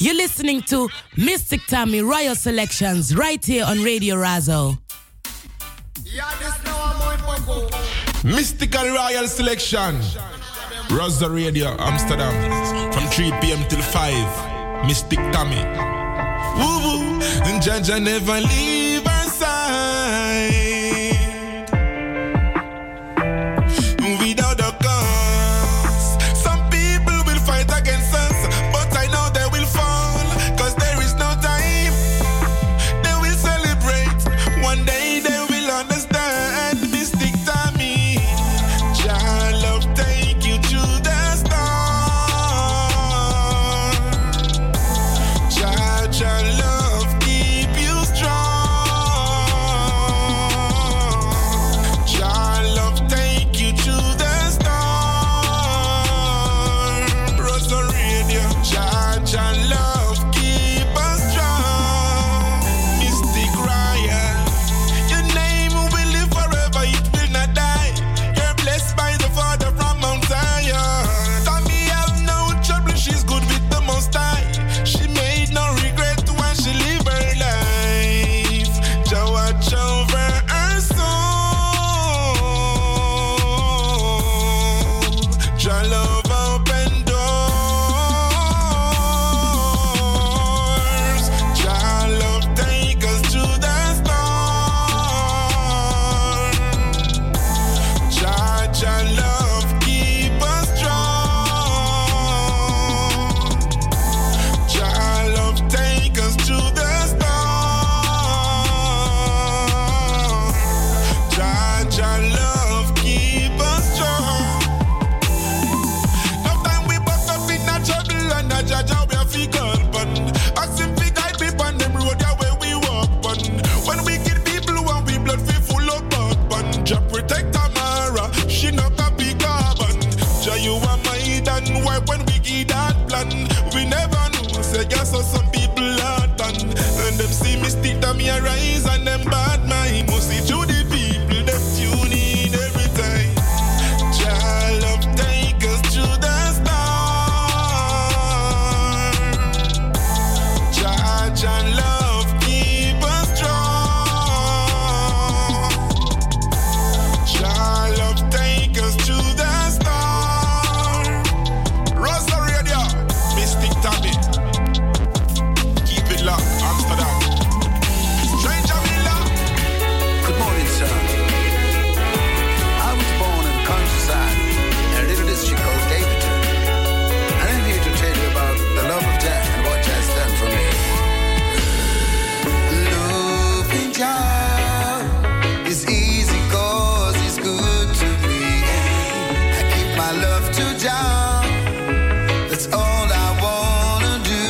You're listening to Mystic Tammy Royal Selections right here on Radio Razo. Mystical Royal Selection. Razo Radio, Amsterdam. From 3 p.m. till 5. Mystic Tammy. Woo woo. And Jaja never leave our side. Without a cause. Some people will fight against us, but I know they will fall. Cause there is no time. They will celebrate. One day they will understand. Mystic Tammy. Jah love take you to the star. Jah love keep you strong. Jah love take you to the star. Razo Radio. Jah love keep us strong. Mystic Royal. Your name will live forever, it will not die. You're blessed by the Father from Mount Zion. Tammy have no trouble, she's good with the Most High. She made no regret when she lived her life. Jah watch over her soul. Jah love open doors. Jah love take us to the star. Jah love keep us strong. Jah love take us to the star. Jah love keep us strong. No time we buck up in a trouble and a Jah we a figure bun. Ask him fi guide me on them road yeah where we walk on. When we kill people when we blood fi full of blood bun. Jah protect Tamara, she no copy carbon. Jah you are my dan why when we give that plan. We never know say yes so some people are done. And them see Mystic Tammy arise and them bad mind. Must see to the people them tune in every time. Jah love take us to the star. Jah love keep us strong. Jah love take us to the star. Razo Radio, Mystic Tammy. Keep it locked, Amsterdam. Stranger Villa. Good morning, sir. I was born in the countryside in a little district called Davidton. And I'm here to tell you about the love of Jah and what Jah has done for me. Loving Jah is easy cause he's good to me. I give my love to Jah. That's all I wanna do.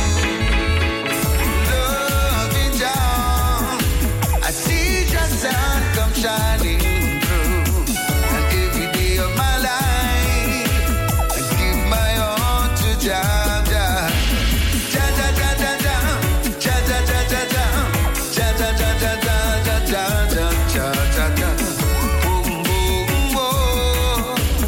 Loving Jah, I see Jah's sun come shining through. And every day of my life, I give my heart to Jah. Jah, Jah, Jah, Jah, Jah, Jah, Jah, Jah, Jah, Jah, Jah, Jah, Jah, Jah, Jah, Jah, Jah, Jah, Jah, Jah. Boom, boom, boom.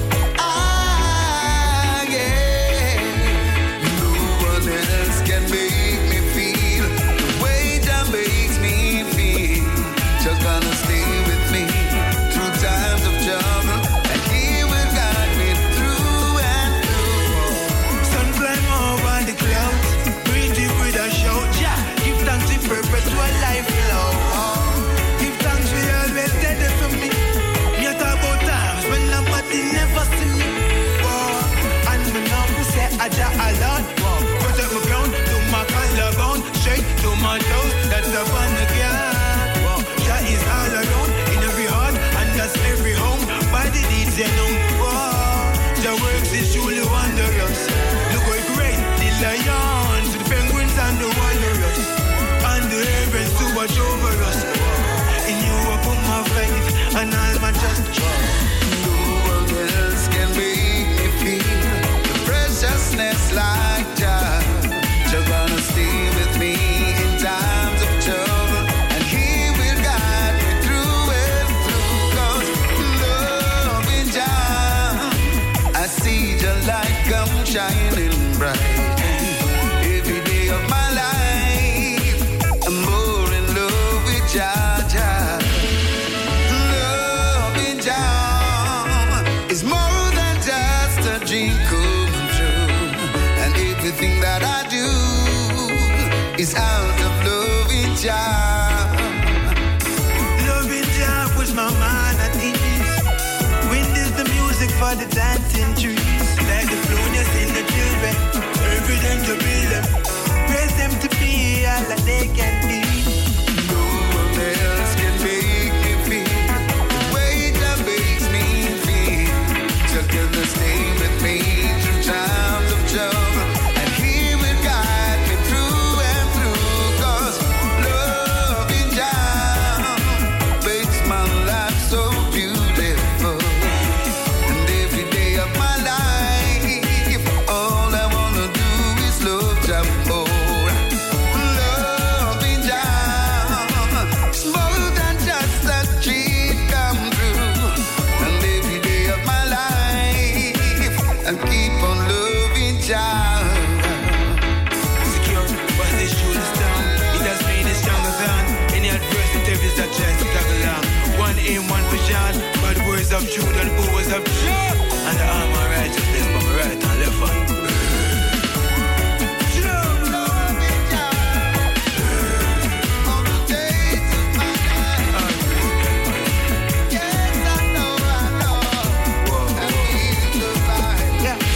Ah, yeah. No one else can make me feel the way Jah makes me feel. Just gonna stay with me through times of trouble, and He will guide me through and through. Sun climb over the clouds, breathe deep with a shout. Yeah, give thanks to perpetual life love. Give thanks for always steady for me. Me talk about times when nobody never see me. And me now me say Aja alone. Protect my ground, do my collarbone, straight to my toes. That's the fun again. Jah is all around in every heart and that's every home. By the deeds they know. Jah works is truly wondrous. Look how great the lions, the penguins and the walrus, and the ravens to watch over us. In you I put my faith and all my trust. No one else can make me feel the preciousness like Jah. Jah gonna stay with me in times of trouble, and He will guide me through and through. 'Cause loving Jah, I see Jah light come shining bright. everything that I do is out of loving Jah. Loving Jah push my mind at ease. Wind is the music for the dancing trees. Like the flowness in the children, everything to build them. Praise them to be all that they can be. No one else can make me feel the way that makes me feel. Just goodness stay with me through times of trouble, and He will guide me through and through. 'Cause loving Jah makes my life so beautiful. And every day of my life, all I wanna do is love Jah more. Loving Jah is more than just a dream come true. And every day of my life, I keep on loving Jah. Secure, but this shoe is down. It has made it stronger than any adversity that tries to tag along. One aim, one vision, but the words of truth and the powers of truth. And the arm of righteousness by my right and left hand. Loving Jah all the days of my life. Yes, I know, and He's the light.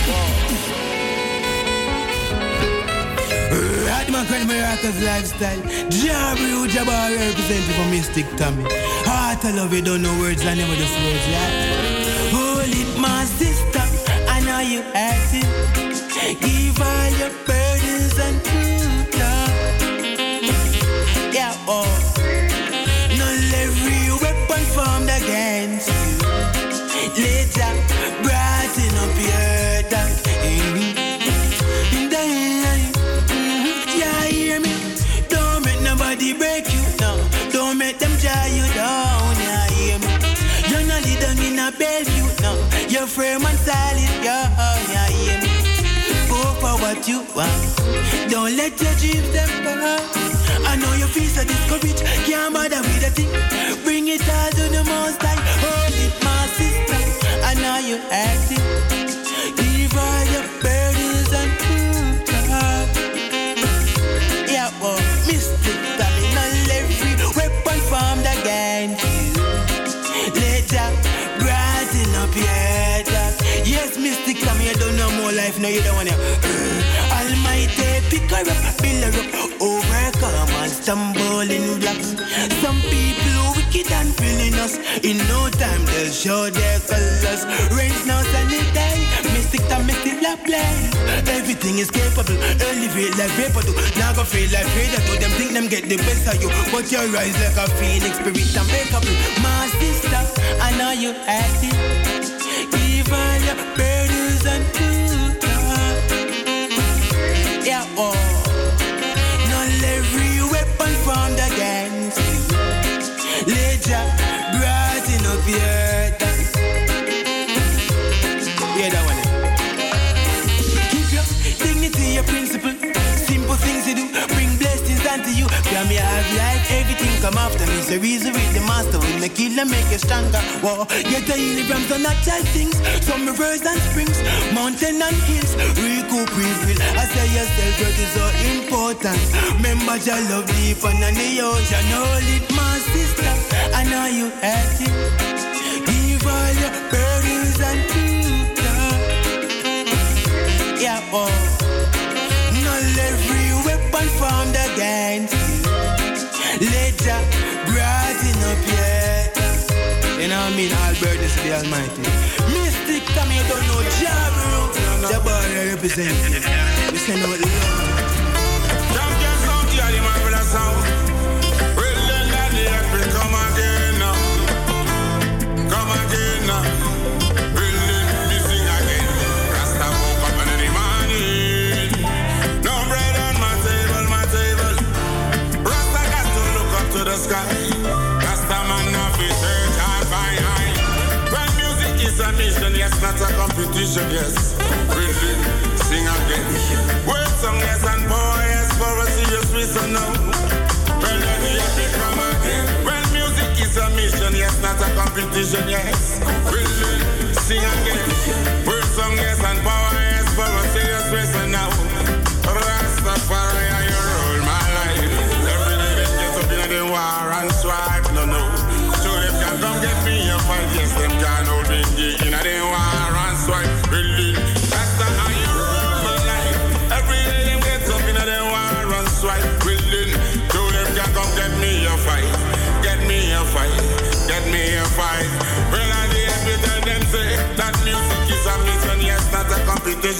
Radman Credit Miracles Lifestyle. Jabri Jabbar representing for Mystic Tommy. Heart I love you, don't know words, I never just words, yeah. Hold it, my sister, I know you acting. Give all your burdens and truth, yeah, oh. Not every weapon formed against you. Later, brighten up your dark. Yeah, hear me? Don't make nobody break you down. Don't make them tie you down. Yeah, hear me? You're not leading in a Bellevue now. You're firm and solid, yeah, hear me? Go for what you want. Don't let your dreams them fall. I know your feet are discouraged. Can't bother with a thing. Bring it all to the most high. Hold it, my sister. I know you acting. Give all your burdens and truth. Yeah, well, Mystic Tommy, not every weapon formed against you. Later, brighten up your head. Yes, Mystic Tommy, you don't know more life, no, you don't want to. Almighty, pick her up, build her up, overcome and stumble in blocks. Some people wicked and feeling us. In no time, they'll show their colors. Rains now, sunny day. Mystic Tommy still a play. Everything is capable. Elevate like paper do. Now go feel like Vader do. Them think them get the best of you, but you rise like a phoenix, spirit unbreakable. My sister, I know you acting. Give all your burdens and truth. Yeah, oh. Not every weapon formed against you. Later, brighten up your earth. Yeah, that one. Keep your dignity, your principle. Simple things you do, bring blessings unto you. From your have life, everything come after me. So reason with the master will make you make you stronger. Whoa, get the healing from the natural things. Some rivers and springs, mountain and hills. Recoup, refill. I say yourself, it is so important. Remember your love deep under the ocean. Hold it, my sister. I know you acting. Give all your burdens and truth. Yeah, oh. Not every weapon formed against you. Later, brighten up your head. You know what I mean? All burdens to the Almighty. Mystic Tommy, you don't know Jabru. Jabbar represent. We send out love. Champion sound, yeah, the marvelous sound. Brilliant and the epic, come again now. Come again now. Brilliant, we sing again. Rasta woke up in the morning. No bread on my table, my table. Rasta got to look up to the sky. Rasta man of his earth and fine high. When music is a mission, yes, not a competition, yes. Brilliant, sing again. Word song, yes, and power, yes, for a serious reason now. When the epic come again. When music is a mission, yes, not a competition, yes. Brilliant, sing again. Word song, yes, and power, yes, for a serious reason now.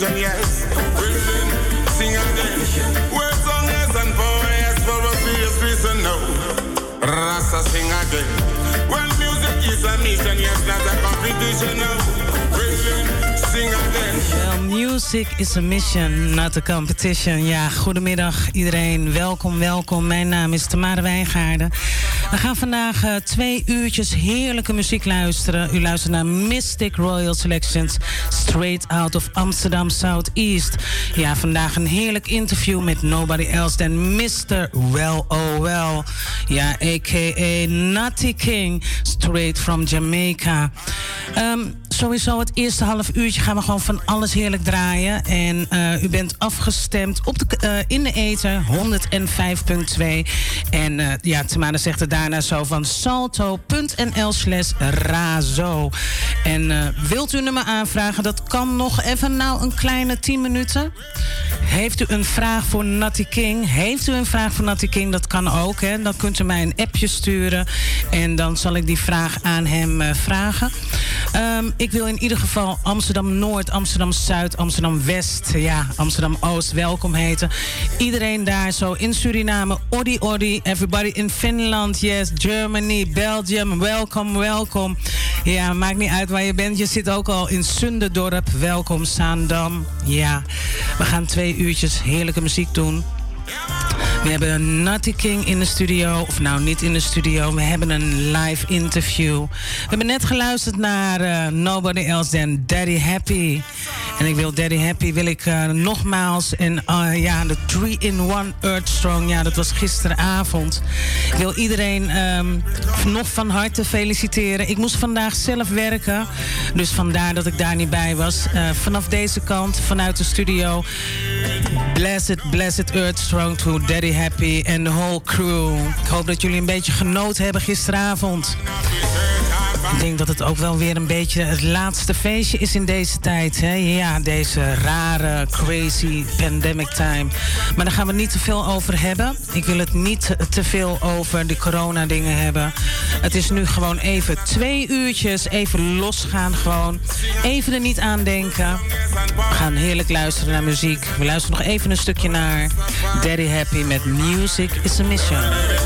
competition, yes. Willing, sing again. Word song, yes, and power, yes, for a serious reason, no. Rasta sing again. Well, music is a mission, yes, not a competition, no. Willing, sing again. Well, music is a mission, not a competition. Ja, goedemiddag iedereen. Welkom, welkom. Mijn naam is Tamara Wijngaarden. We gaan vandaag 2 uurtjes heerlijke muziek luisteren. U luistert naar Mystic Royal Selections, straight out of Amsterdam Southeast. Ja, vandaag een heerlijk interview met nobody else than Mr. Well Oh Well. Ja, a.k.a. Natty King, straight from Jamaica. Sowieso het eerste half uurtje gaan we gewoon van alles heerlijk draaien. En u bent afgestemd op in de ether 105.2. En ja, Tamara zegt er daarna zo van salto.nl/razo. En wilt u een nummer aanvragen? Dat kan nog even een kleine 10 minuten. Heeft u een vraag voor Natty King? Heeft u een vraag voor Natty King? Dat kan ook, hè. Dan kunt u mij een appje sturen. En dan zal ik die vraag aan hem vragen. Ik wil in ieder geval Amsterdam-Noord, Amsterdam-Zuid, Amsterdam-West, ja, Amsterdam-Oost welkom heten. Iedereen daar zo in Suriname, Odi Odi, everybody in Finland, yes, Germany, Belgium, welkom, welkom. Ja, maakt niet uit waar je bent. Je zit ook al in Zunderdorp. Welkom, Zaandam. Ja, we gaan 2 uurtjes heerlijke muziek doen. We hebben Natty King in de studio. Of nou, niet in de studio. We hebben een live interview. We hebben net geluisterd naar Nobody Else Than Daddy Happy. En ik wil Daddy Happy nogmaals. En ja, de 3-in-1 Earth Strong. Ja, dat was gisteravond. Ik wil iedereen nog van harte feliciteren. Ik moest vandaag zelf werken. Dus vandaar dat ik daar niet bij was. Vanaf deze kant, vanuit de studio. Blessed Earth Strong to Daddy Happy and the whole crew. Ik hoop dat jullie een beetje genoten hebben gisteravond. Ik denk dat het ook wel weer een beetje het laatste feestje is in deze tijd. Hè? Ja, deze rare, crazy pandemic time. Maar daar gaan we niet te veel over hebben. Ik wil het niet te veel over de corona dingen hebben. Het is nu gewoon even 2 uurtjes. Even losgaan gewoon. Even er niet aan denken. We gaan heerlijk luisteren naar muziek. We luisteren nog even een stukje naar Daddy Happy met Music is a Mission.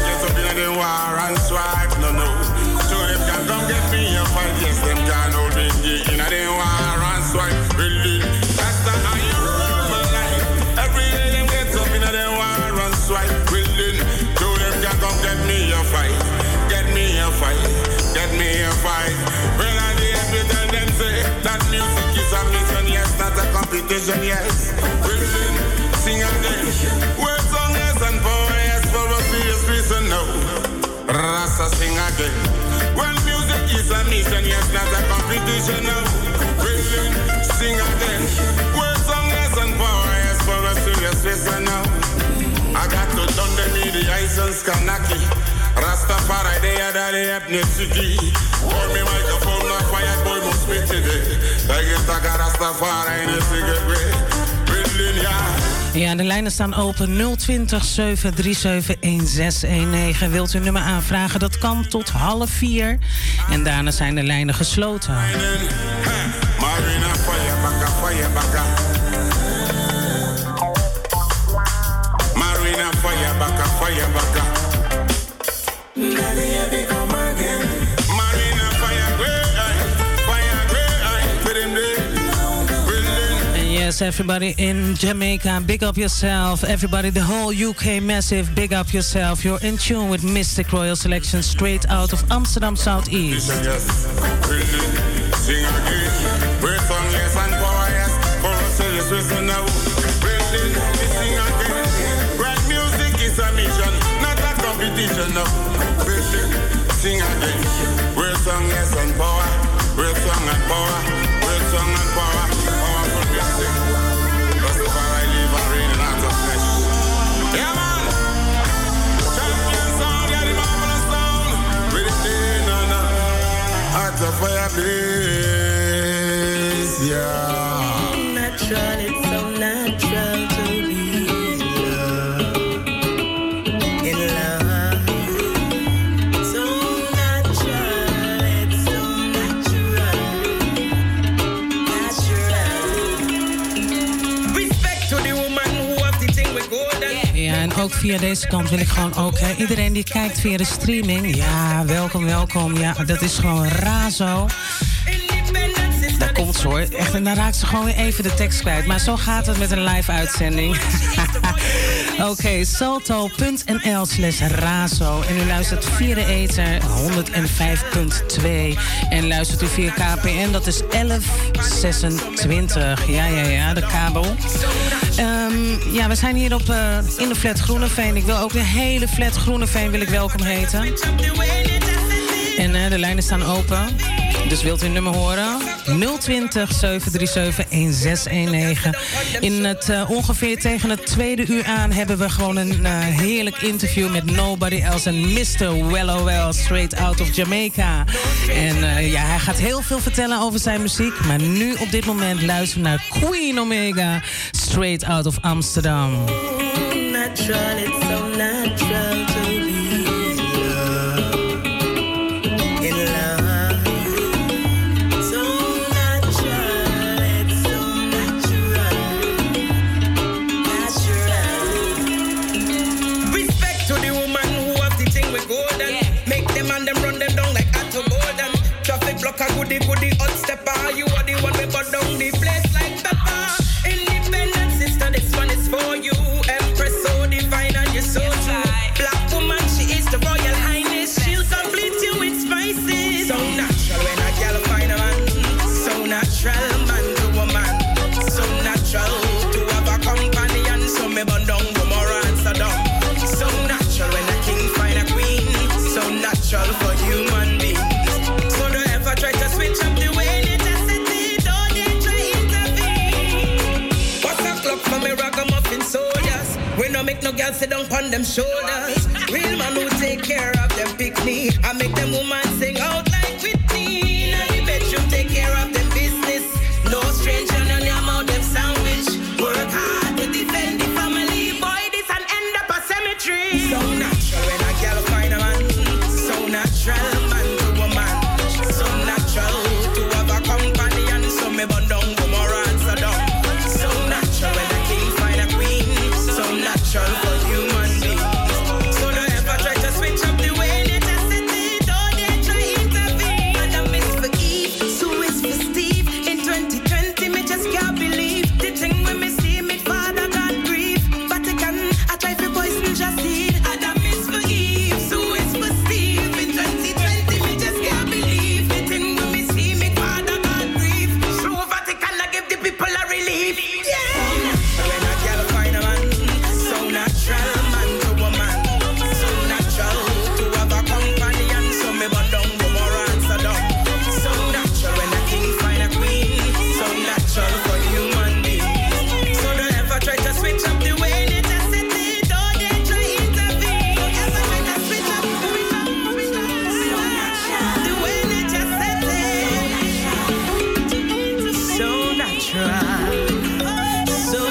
Come get me a fight, yes, them can't hold me in a day war and swipe, really. That's the how you rule my life. Every day them get up in a day war and swipe, really. So them can come get me a fight, get me a fight, get me a fight. Well, I did tell them say that music is a mission, yes, not a competition, yes. Really, sing again. Word song, yes, and power, yes, for a serious reason, no. Rasta sing again. Well, music is a mission, yes, not a competition, no. Willing, sing again. Words, song, yes, and power, yes, for a serious reason, no. I got to done the mediation, Skanaki. Rastafari, they are the ethnicity. Hold me microphone, not fire, boy, must be today. I get to Rastafari in a cigarette way. Willing, yeah. Ja, de lijnen staan open 020 737 1619. Wilt u een nummer aanvragen? Dat kan tot 3:30. En daarna zijn de lijnen gesloten. Marina, fire, baka, fire, baka. Yes, everybody in Jamaica, big up yourself. Everybody, the whole UK massive, big up yourself. You're in tune with Mystic Royal Selection, straight out of Amsterdam Southeast. Sing again, we're song, yes, and power, yes, for us, serious reason now. Sing again, right music is a mission, not a competition now. Sing again, we're song, yes, and power, we're song and power, we're song and power. Yeah, man. Champion sound, yeah, the marvelous sound. With the day, no. Heart of fire, please, yeah. Natural, it's so natural to be in love. So natural, it's so natural. Ja, en ook via deze kant wil ik gewoon ook... iedereen die kijkt via de streaming... Ja, welkom, welkom. Ja, dat is gewoon Razo. Daar komt ze hoor. Echt, en dan raakt ze gewoon weer even de tekst kwijt. Maar zo gaat het met een live uitzending. Oké, salto.nl/Razo. En u luistert via de ether 105.2. En luistert u via KPN, dat is 1126. Ja, de kabel. Ja, we zijn hier in de flat Groeneveen. Ik wil ook de hele flat Groeneveen wil ik welkom heten. En de lijnen staan open. Dus wilt u een nummer horen? 020 737 1619. In het ongeveer tegen het tweede uur aan hebben we gewoon een heerlijk interview met Nobody Else en Mr. Well, straight out of Jamaica. En ja, hij gaat heel veel vertellen over zijn muziek. Maar nu op dit moment luisteren we naar Queen Omega, straight out of Amsterdam. Natural, it's so natural to be in love. So natural, it's so natural. Respect to the woman who have the thing with golden. Make them and them run them down like Atto Golden. Traffic block a goodie, hot stepper. You are the one we put down the place like pepper. Independent sister, this one is for you. Empress so divine and you're so true. Black woman, she is the royal highness. She'll complete you with spices. So natural when a girl find a man. So natural man to woman. So natural to have a companion. So me burn down Gomorrah and Sodom. So natural when a king find a queen. So natural for human beings. So don't ever try to switch up the way they just set it. Don't they try intervene. What's a clock for me ragamuffin soldiers? We no make no girls sit down on them shoulders. Real man who take care of them picnic. I make them woman sing out like Whitney. Now the bedroom take care of them business. No stranger on your mouth them sandwich. Work hard to defend the family. Boy, this and end up a cemetery. So natural when a girl find a man. So natural man to woman. So natural to have a companion. So me burn down Gomorrah and Sodom. So natural when a king find a queen. So natural for human beings. So don't ever try to switch up the way they just set it. Don't they try intervene. Adam is for Eve, Sue is for Steve. In 2020, me just can't believe the thing when me see me father got grief. Vatican, I try to poison just seed. Adam is for Eve, Sue is for Steve. In 2020, me just can't believe the thing when me see me father got grief. Through Vatican, I give the people a relief. Yeah. When a girl find a man, so natural man to woman. So natural to have a companion. So me burn down Gomorrah and Sodom. So natural when a king find a queen. So natural for human beings. So don't ever try to switch up the way they just set it. Don't they try intervene. Don't ever try to switch up the way they just set it. So natural. So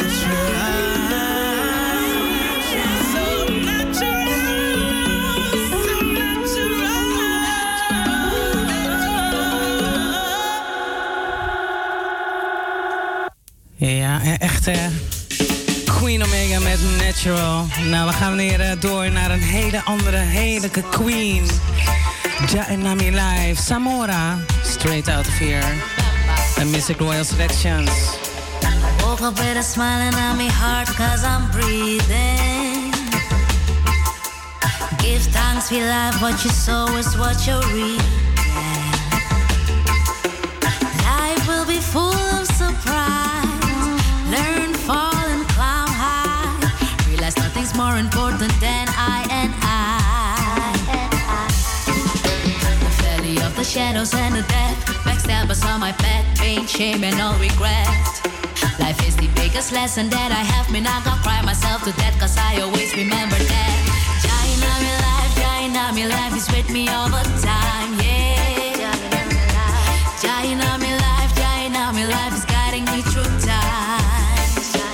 Ja, echt Queen Omega met Natural. Nou, we gaan weer door naar een hele andere, heerlijke queen. Ja en Nami Live, Samora, straight out of here. And Mystic Royal Selections. Woke up with a smile on my heart cause I'm breathing. Give thanks for life, what you sow is what you reap. Life will be full of surprise. Learn, fall and climb high. Realize nothing's more important than I and I. The valley of the shadows and the death. Backstabbers on my path, pain, shame and all regret. Life is the biggest lesson that I have. Me not gonna cry myself to death, cause I always remember that. Jaina, my life is with me all the time, yeah. Jaina, my life is guiding me through time.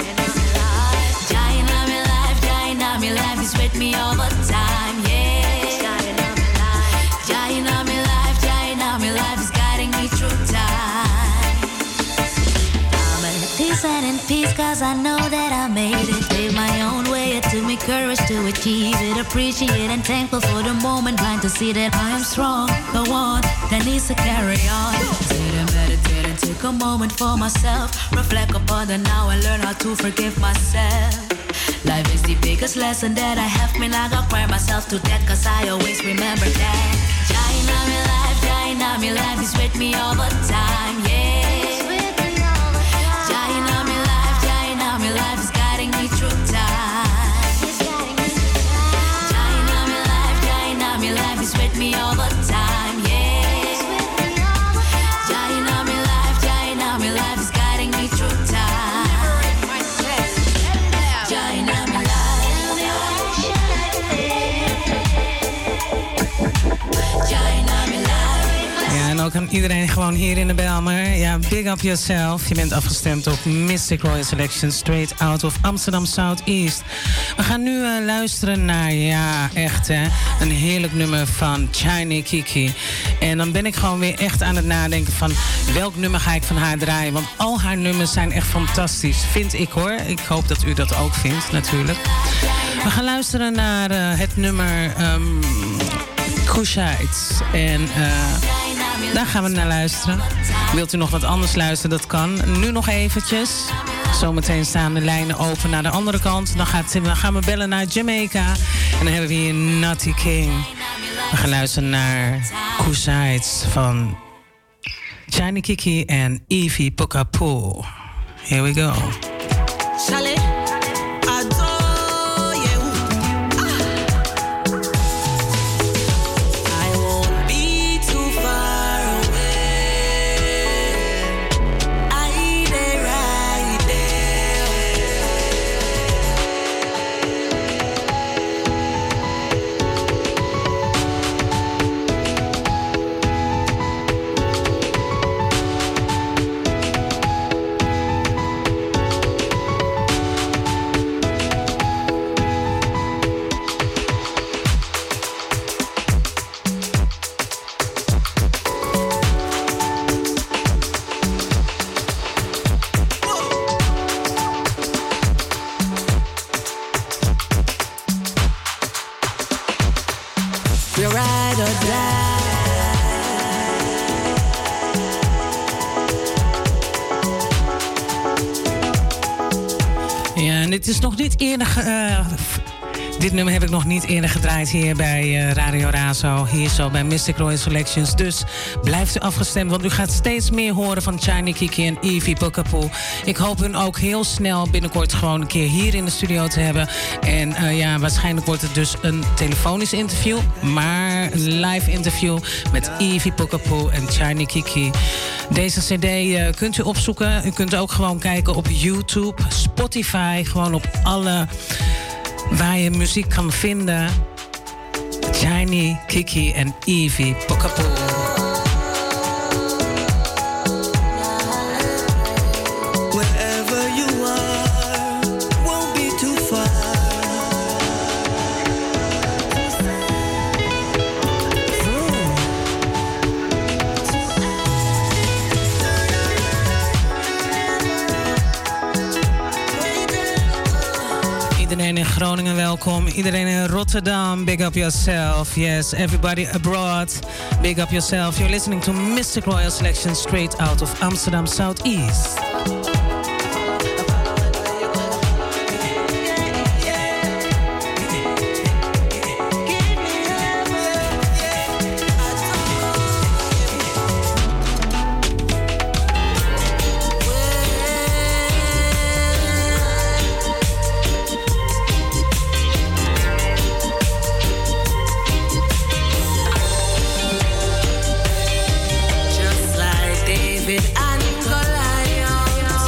Jaina, my life is with me all the time, yeah. Jaina, my life is guiding me through time. I'm at peace and in peace, cause I know that I made it. Live my own way to courage to achieve it. Appreciate and thankful for the moment. Blind to see that I am strong. The one that needs to carry on. Sit and meditate and take a moment for myself. Reflect upon the now and learn how to forgive myself. Life is the biggest lesson that I have. Me not gonna cry myself to death, cause I always remember that. Jaina my life is with me all the time, yeah. Jaina my life is guiding me through time. Jaina my life is with me all the time, yeah. Jaina my life is guiding me through time. Jaina my life. Jaina my life. Ja, en ook aan iedereen gewoon hier in de Bijlmer. Ja, big up yourself. Je bent afgestemd op Mystic Royal Selection, straight out of Amsterdam Southeast. We gaan nu luisteren naar, ja, echt hè, een heerlijk nummer van Chiny Kiki. En dan ben ik gewoon weer echt aan het nadenken van welk nummer ga ik van haar draaien. Want al haar nummers zijn echt fantastisch, vind ik hoor. Ik hoop dat u dat ook vindt, natuurlijk. We gaan luisteren naar het nummer Kushite. En daar gaan we naar luisteren. Wilt u nog wat anders luisteren? Dat kan. Nu nog eventjes. Zometeen staan de lijnen open naar de andere kant. Dan gaan we bellen naar Jamaica. En dan hebben we hier Natty King. We gaan luisteren naar Kushite van Chiny Kiki en Evie Pokapo. Here we go. Chalet. Dit is nog niet eerder. Dit nummer heb ik nog niet eerder gedraaid hier bij Radio Razo. Hier zo bij Mystic Royal Selections. Dus blijft u afgestemd, want u gaat steeds meer horen van Chiny Kiki en Evie Pokapo. Ik hoop hun ook heel snel binnenkort gewoon een keer hier in de studio te hebben. En ja, waarschijnlijk wordt het dus een telefonisch interview. Maar een live interview met Evie Pokapo en Chiny Kiki. Deze cd kunt u opzoeken. U kunt ook gewoon kijken op YouTube, Spotify. Gewoon op alle waar je muziek kan vinden. Chiny Kiki en Evie Pokapo. Iedereen in Groningen welkom. Iedereen in Rotterdam, big up yourself. Yes, everybody abroad, big up yourself. You're listening to Mystic Royal Selection straight out of Amsterdam Southeast. Just like David and Goliath.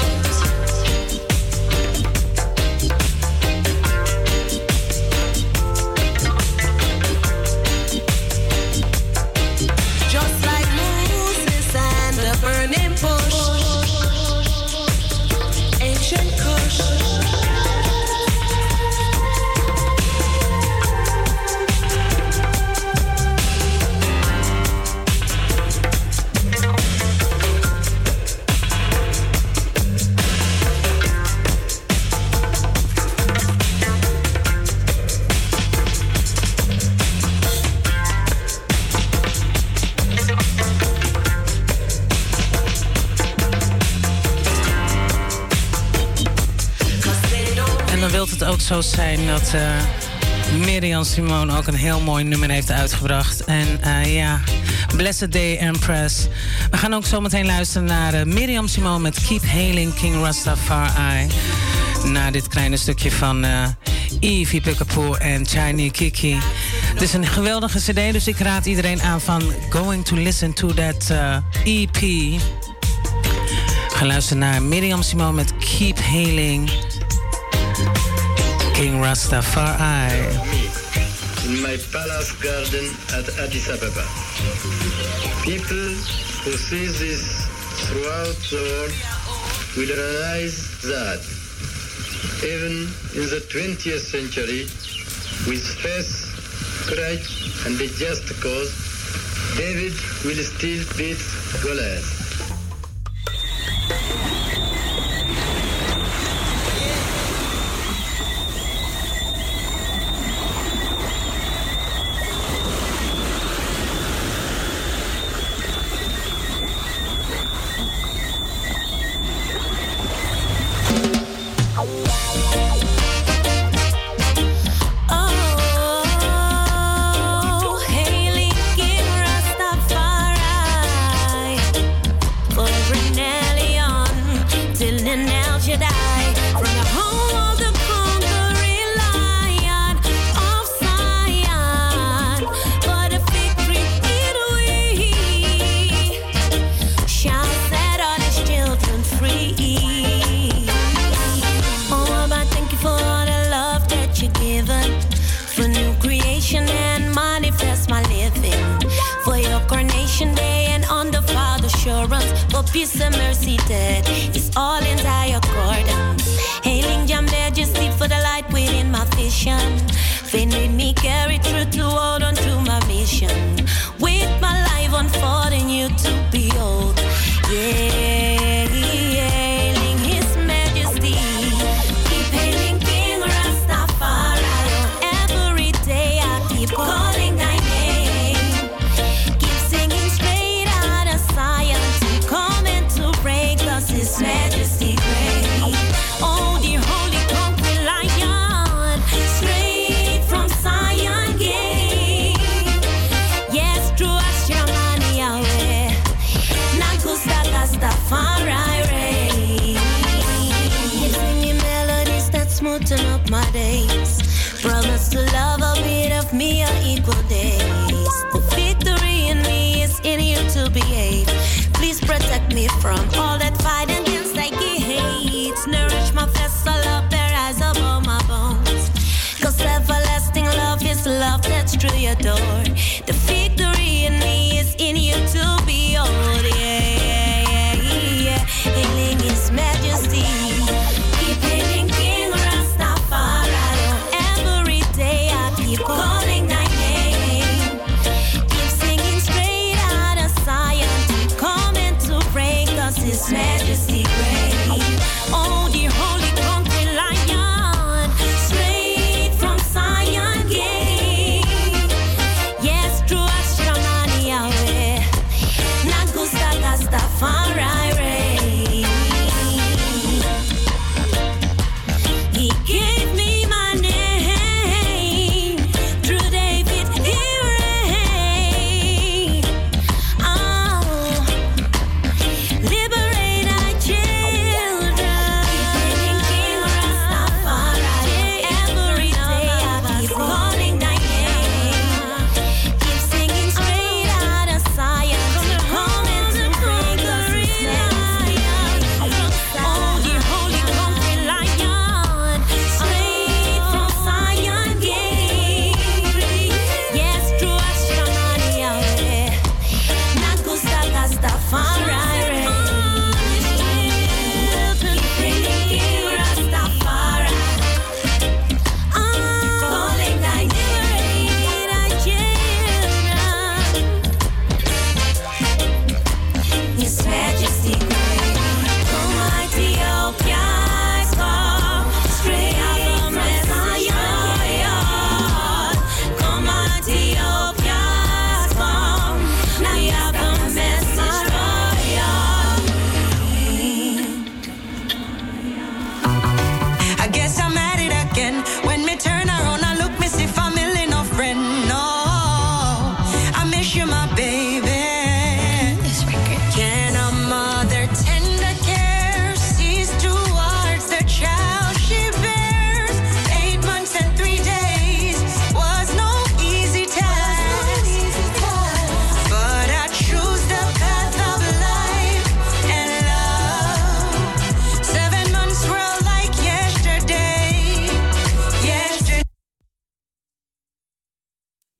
zo zijn dat Miriam Simone ook een heel mooi nummer heeft uitgebracht. En ja, Blessed Day Empress. We gaan ook zo meteen luisteren naar Miriam Simone met Keep Hailing King Rastafari. Na dit kleine stukje van Evie Picapoe en Chiny Kiki. Het is een geweldige cd, dus ik raad iedereen aan van going to listen to that EP. We gaan luisteren naar Miriam Simone met Keep Hailing King Rastafari. In my palace garden at Addis Ababa. People who see this throughout the world will realize that even in the 20th century, with faith, courage and a just cause, David will still beat Goliath. For peace and mercy that is all in thy accordance. Hailing your majesty for the light within my vision. Faith made me carry through to hold on to my mission. With my life unfolding you to behold. Yeah, hailing his majesty. Keep hailing King Rastafari. Every day I keep calling thy name. Keep singing straight out of Zion. His majesty great. Oh, the holy conquering lion, straight from Zion gate. Yes, true as Shamani Yahweh. Nakusta Rastafari reign. Singing melodies that smoothen up my days. Promise to love a bit of me on equal days. The victory in me is in you to behave. Please protect me from all that fight against I hate. Nourish my vessel up there as above my bones. Cause everlasting love is love that's through your door. The victory in me is in you to behold. Yeah. Hailing his majesty. Keep hailing King Rastafari. Every day I keep calling thy name. Keep singing straight out of Zion. His majesty great. Oh, the holy conquering lion, straight from Zion gate. Yes, true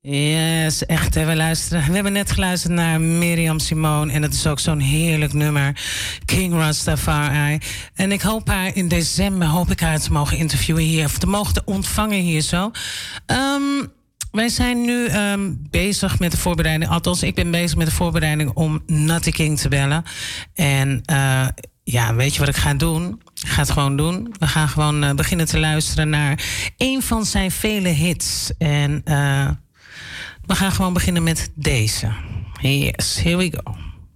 Yes, echt. Hè, we hebben net geluisterd naar Miriam Simone. En het is ook zo'n heerlijk nummer. King Rastafari. En ik hoop haar in december te mogen interviewen hier. Of te mogen ontvangen hier zo. Wij zijn nu bezig met de voorbereiding. Althans, ik ben bezig met de voorbereiding om Natty King te bellen. En ja, weet je wat ik ga doen? Ik ga het gewoon doen. We gaan gewoon beginnen te luisteren naar een van zijn vele hits. En we gaan gewoon beginnen met deze. Yes, here we go.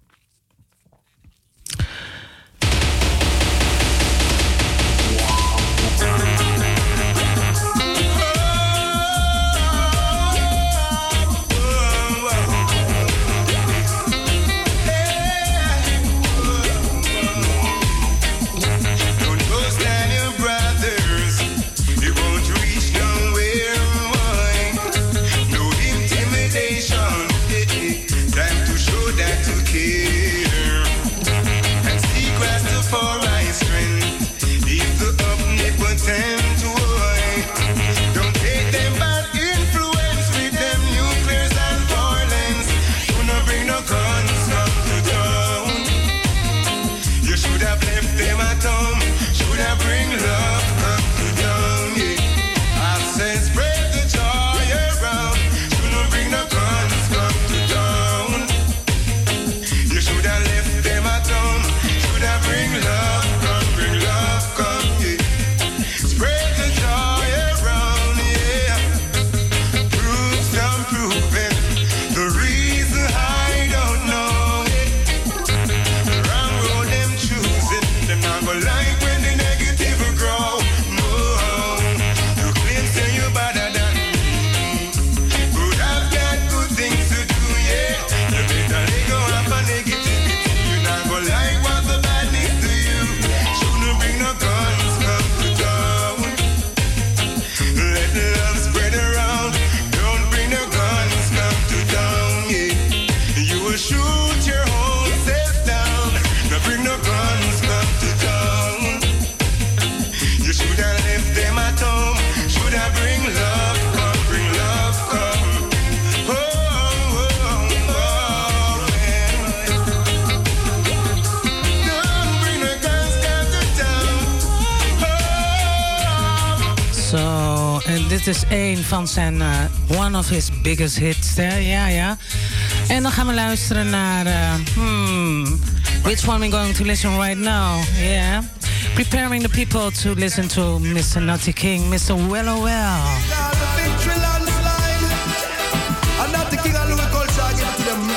Dit is een van zijn one of his biggest hits. Ja. En dan gaan we luisteren naar which one we're going to listen right now. Yeah. Preparing the people to listen to Mr. Natty King, Mr. Wello Well. Natty King and Louis Culture give it to them.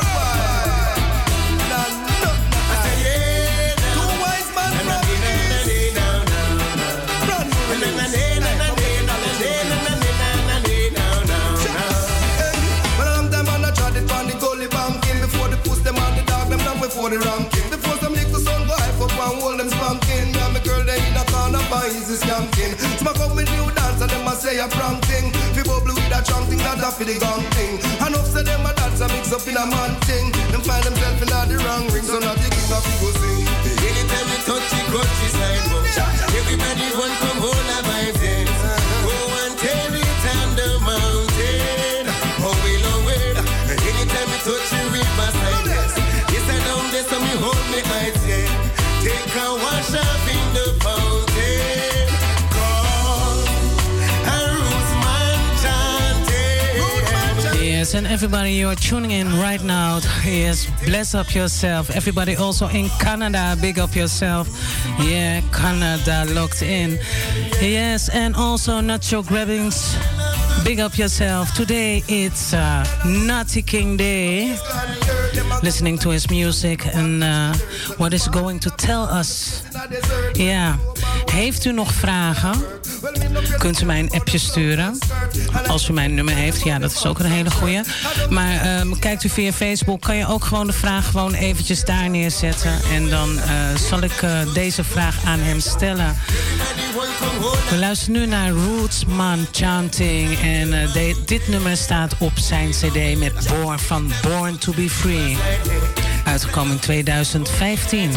For the ranking, before some little son go hype up and hold them spanking. Me and my girl they in a corner by easy skanking. Smack up with new dance and them a say a prank thing. We bubble with a chunk thing that for the gang thing. And up say them a dance a mix up in a man thing. Them find themselves in the wrong ring, so not the king of go sing. Anytime we touch the countryside, everybody want come hold a vibe then. Go and tell it on the mountain. Oh we love it. Anytime we touch the riverside. So me hold me eyes, yeah. Take a wash up in the fountain. Call a Rootsman chanting. Yes, and everybody you are tuning in right now. Yes, bless up yourself. Everybody also in Canada, big up yourself. Yeah, Canada locked in. Yes, and also Nacho Grabbings. Big up yourself. Today it's Natty King Day. Listening to his music and what is going to tell us. Ja, heeft u nog vragen? Kunt u mij een appje sturen. Als u mijn nummer heeft, ja, dat is ook een hele goeie. Maar kijkt u via Facebook, kan je ook gewoon de vraag gewoon eventjes daar neerzetten. En dan zal ik deze vraag aan hem stellen. We luisteren nu naar Rootsman Chanting. En dit nummer staat op zijn cd met Born to be Free. Uitgekomen in 2015.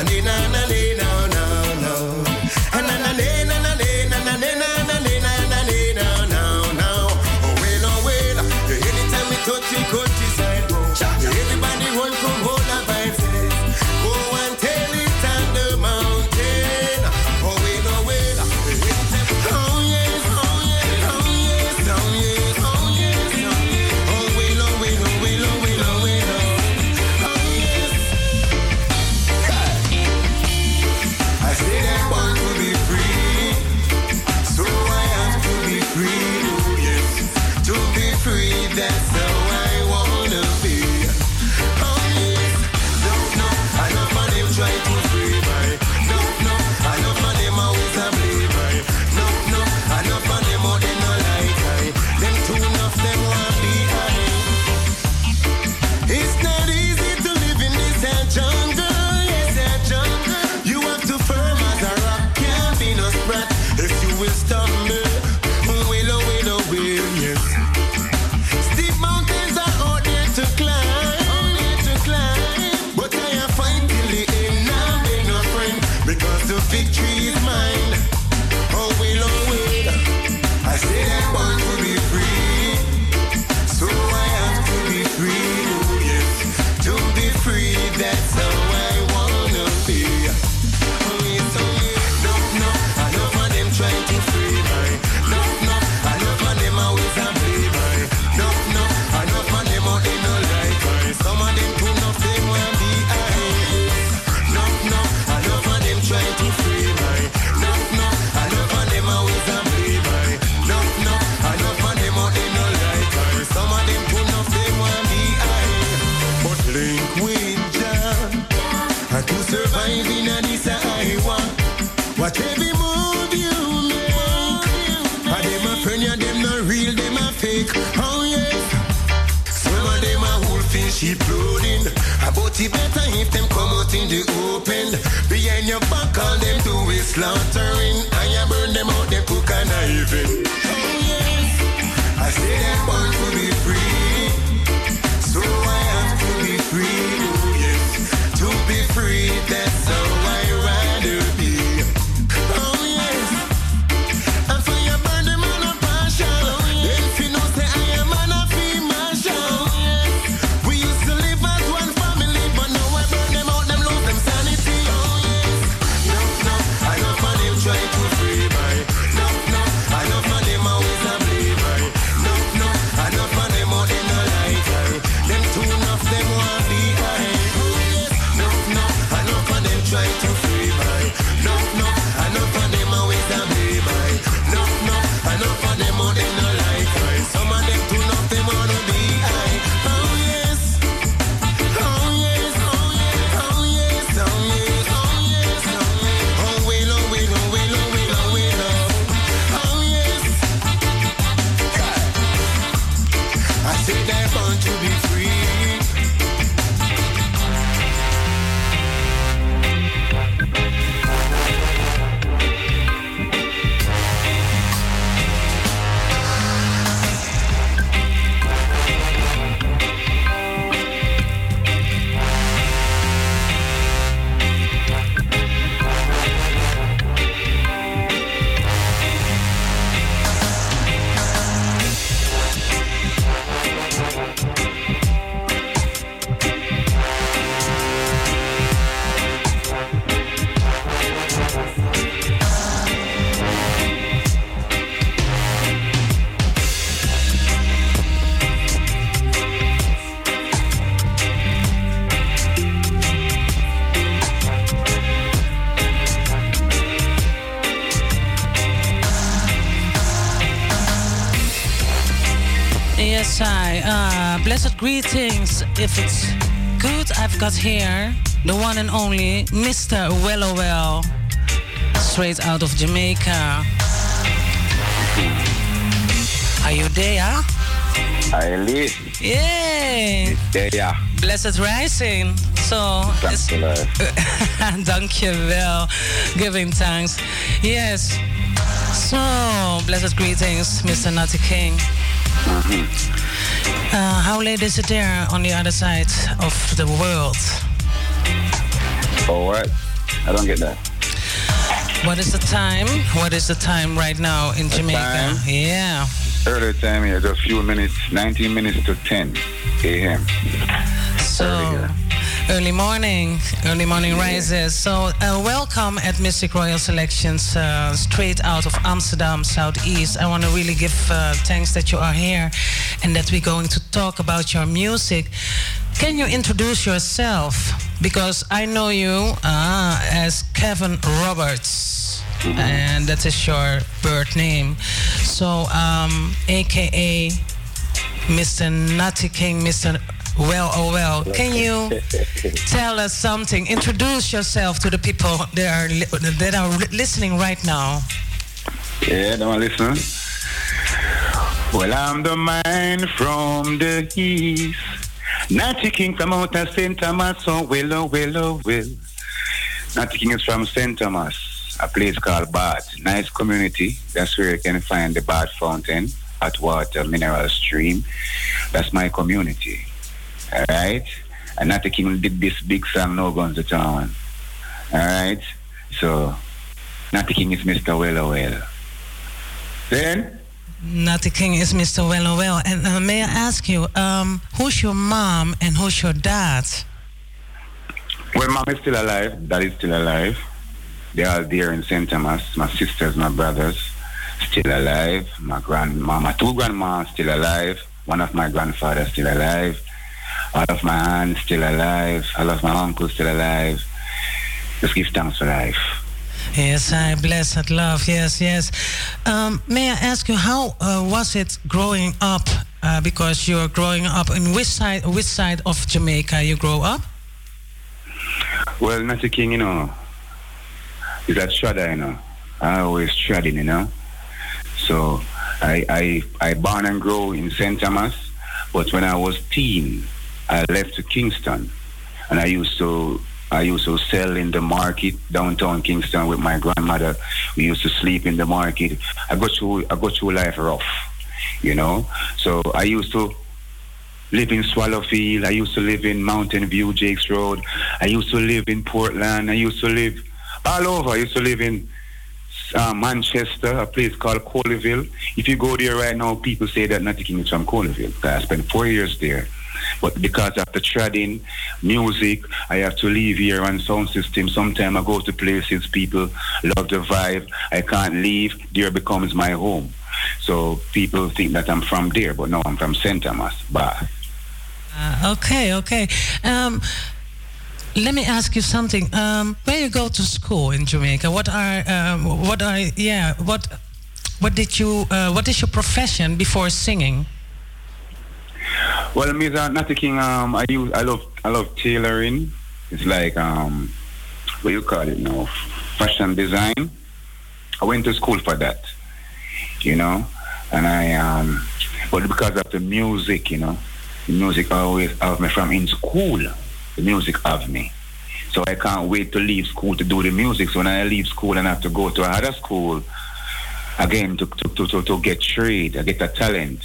Blessed greetings. If it's good, I've got here the one and only Mr. Wellowell, straight out of Jamaica. Are you there? I live. Yay! Yeah. Blessed rising. So, dankjewel. Giving thanks. Yes. So, blessed greetings, Mr. Natty King. How late is it there on the other side of the world? Oh, what? I don't get that. What is the time? What is the time right now in Jamaica? Time? Yeah. Early time here, just a few minutes, 19 minutes to 10 a.m. So, early morning rises. So, welcome at Mystic Royal Selections, straight out of Amsterdam, Southeast. I want to really give thanks that you are here and that we're going to talk about your music. Can you introduce yourself? Because I know you as Kevin Roberts, and that is your birth name. So, AKA Mr. Natty King, Mr. Well, oh well. Can you tell us something? Introduce yourself to the people that are listening right now. Yeah, they want to listen. Well, I'm the man from the east. Natty King from out of St. Thomas, oh, well. Natty King is from St. Thomas, a place called Bath. Nice community. That's where you can find the Bath Fountain, hot water, mineral stream. That's my community. All right? And Natty King did this big song, No Guns to Town. All right? So, Natty King is Mr. Well. Then? Natty King is Mr. Well. And may I ask you, who's your mom and who's your dad? Well, mom is still alive. Dad is still alive. They are there in St. Thomas. My sisters, my brothers, still alive. My two grandmas still alive. One of my grandfathers still alive. All of my aunts still alive. All of my uncles still alive. Just give thanks for life. Yes, I blessed love. Yes. May I ask you, how was it growing up? Because you're growing up in which side of Jamaica you grow up? Well, Natty King, is that shredder, I always shredding, So I born and grow in St. Thomas, but when I was teen, I left to Kingston, and I used to sell in the market downtown Kingston with my grandmother. We used to sleep in the market. I got through life rough, So I used to live in Swallowfield. I used to live in Mountain View, Jakes Road. I used to live in Portland. I used to live all over. I used to live in Manchester, a place called Colleyville. If you go there right now, people say that Natty King is from Colleyville. I spent 4 years there. But because of the trading, music, I have to leave here on sound system. Sometimes I go to places, people love the vibe. I can't leave. There becomes my home. So people think that I'm from there, but no, I'm from St. Thomas, Bath. Okay. Let me ask you something. Where you go to school in Jamaica? What is your profession before singing? Well, Natty King, I love tailoring. It's like what you call it now, fashion design. I went to school for that, and I but because of the music, the music always have me from in school. The music have me, so I can't wait to leave school to do the music. So when I leave school and I have to go to another school again to get trade, I get a talent,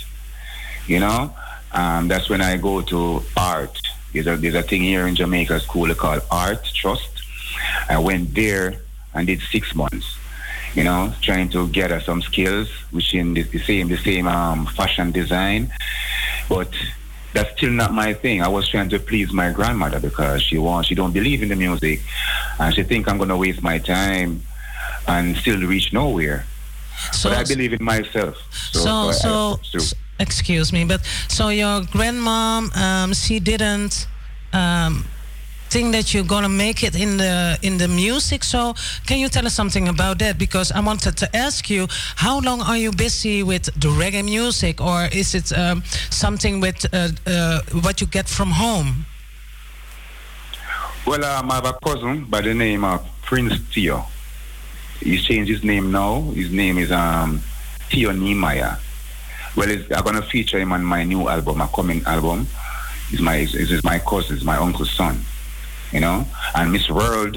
That's when I go to art. There's a thing here in Jamaica school called Art Trust. I went there and did 6 months, trying to gather some skills, which in the same fashion design. But that's still not my thing. I was trying to please my grandmother because she don't believe in the music, and she think I'm gonna waste my time and still reach nowhere. But I believe in myself. Excuse me, but so your grandmom, she didn't think that you're gonna make it in the music. So can you tell us something about that? Because I wanted to ask you, how long are you busy with the reggae music, or is it something with what you get from home? Well, I have a cousin by the name of Prince Theo. He's changed his name now. His name is Theo Nehemiah. Well, I'm gonna feature him on my new album, my coming album. He's my cousin, he's my uncle's son, And Miss World,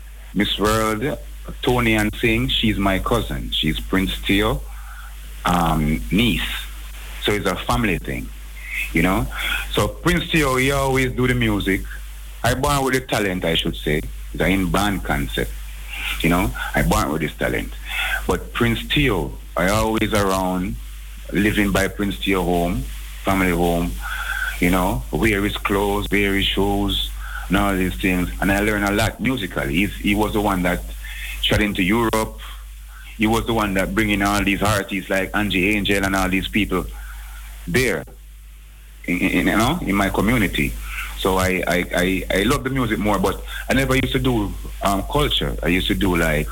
Tony and Singh, she's my cousin. She's Prince Theo, niece. So it's a family thing, So Prince Theo, he always do the music. I born with the talent, I should say, It's an in-band concept. You know, I born with this talent. But Prince Theo, I always around, living by Prince Theo home, family home, you know, wear his clothes, wear his shoes, and all these things. And I learned a lot musically. He was the one that shot into Europe. He was the one that bringing all these artists like Angie Angel and all these people there, in my community. So I love the music more, but I never used to do culture. I used to do like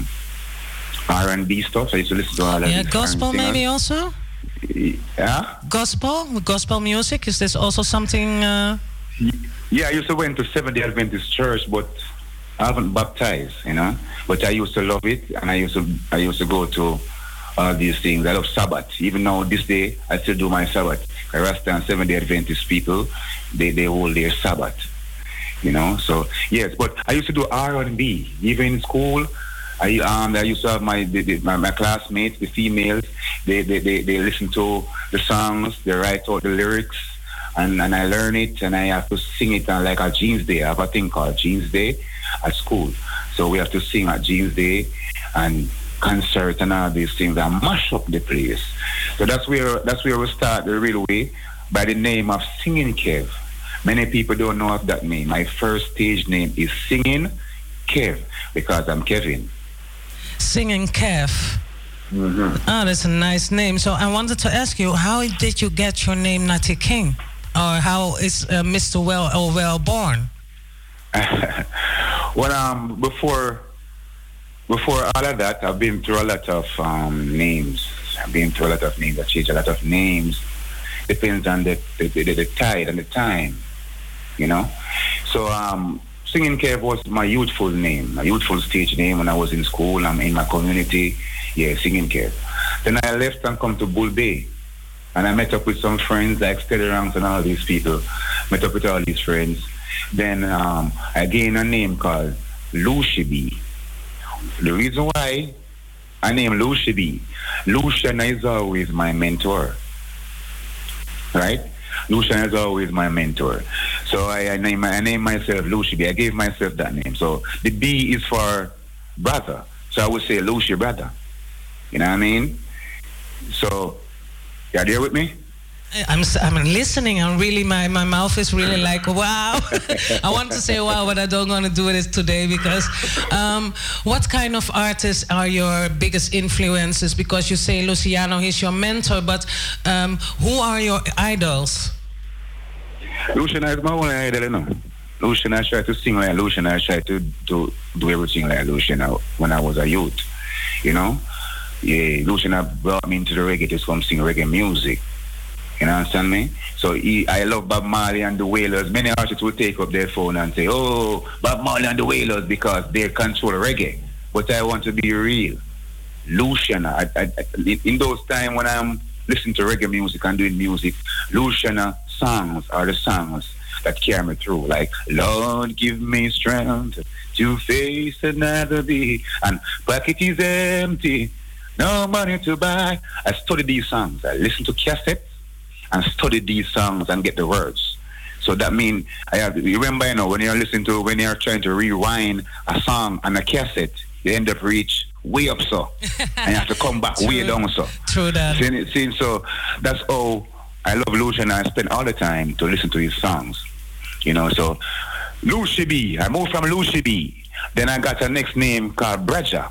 R&B stuff. I used to listen to all that. Yeah, gospel maybe also? Yeah? Gospel music, is this also something... Yeah, I used to went to Seventh-day Adventist Church, but I haven't baptized, you know. But I used to love it, and I used to go to all these things. I love Sabbath. Even now, this day, I still do my Sabbath. Rasta and Seventh-day Adventist people, they hold their Sabbath, you know. So yes, but I used to do R&B. Even in school, I used to have my classmates, the females. They listen to the songs, they write out the lyrics, and I learn it, and I have to sing it on like a Jeans Day. I have a thing called Jeans Day at school. So we have to sing at Jeans Day and concert and all these things and mash up the place. So that's where we start the real way, by the name of Singing Kev. Many people don't know of that name. My first stage name is Singing Kev because I'm Kevin. Singing Kev. Mm-hmm. Oh, that's a nice name. So I wanted to ask you, how did you get your name Natty King? Or how is Mr. Well born? Well, before all of that, I've been through a lot of names. I've been through a lot of names. I changed a lot of names. Depends on the tide and the time, you know. So Singing Kev was my youthful name, my youthful stage name when I was in school. I'm in my community. Yeah, Singing Kev. Then I left and come to Bull Bay. And I met up with some friends like Steady Ranks and all these people. Met up with all these friends. Then I gained a name called Lucy B. The reason why I named Lucy B, Lucian is always my mentor. Right? Lucian is always my mentor. So I named myself Lucy B. I gave myself that name. So the B is for brother. So I would say Lucy brother. You know what I mean? So, you are there with me? I'm listening, and really my mouth is really like, wow. I want to say wow, but I don't want to do it today because what kind of artists are your biggest influences? Because you say Luciano, he's your mentor, but who are your idols? Luciano is my only idol, you know. Luciano, I tried to sing like Luciano. I tried to do everything like Luciano when I was a youth, you know. Yeah, Luciano brought me into the reggae to come sing reggae music. You understand me? So I love Bob Marley and the Wailers. Many artists will take up their phone and say, oh, Bob Marley and the Wailers because they control reggae. But I want to be real. Luciano, in those times when I'm listening to reggae music and doing music, Luciano songs are the songs that carry me through. Like, Lord, give me strength to face another day. And pocket is empty, no money to buy. I study these songs. I listen to cassettes and study these songs and get the words. So that means you remember, you know, when you're trying to rewind a song on a cassette, you end up reach way up so. And you have to come back way down so. True that. So that's how I love Lucian. I spend all the time to listen to his songs. You know, so Lucy B. I moved from Lucy B. Then I got a next name called Bredja.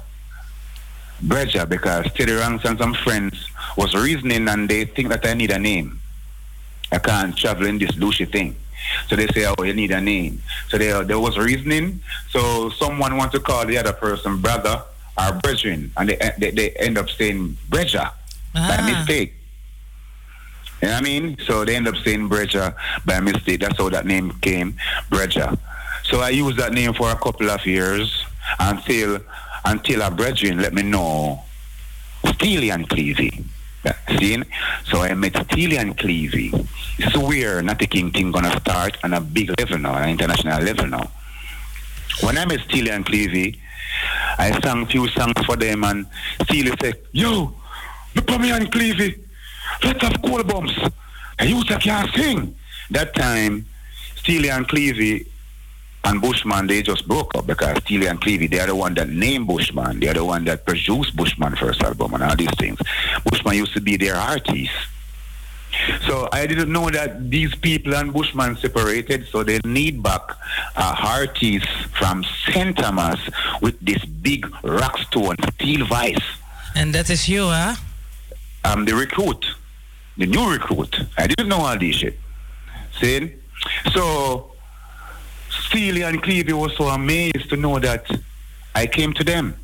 Bredja, because Steady Ranks and some friends was reasoning and they think that I need a name. I can't travel in this Lucy thing. So they say, oh, you need a name. So there was reasoning. So someone wants to call the other person brother or brethren, and they end up saying Bredja by mistake. You know what I mean? So they end up saying Bredja by mistake. That's how that name came, Bredja. So I used that name for a couple of years until a brethren let me know Steely and Cleavy. See? So I met Steely and Cleavy. This is where Natty King thing gonna start on a big level now, an international level now. When I met Steely and Cleavy, I sang a few songs for them and Steely said, yo, look at me and Cleavy. Let's have cool bumps. And you can't sing. That time, Steely and Cleavy and Bushman, they just broke up because Steely and Clevie, they are the one that named Bushman. They are the one that produced Bushman first album and all these things. Bushman used to be their artist. So I didn't know that these people and Bushman separated, so they need back artists from St. Thomas with this big rock stone, steel voice. And that is you, huh? I'm the recruit, the new recruit. I didn't know all this shit. See? So Steely and Clevie was so amazed to know that I came to them.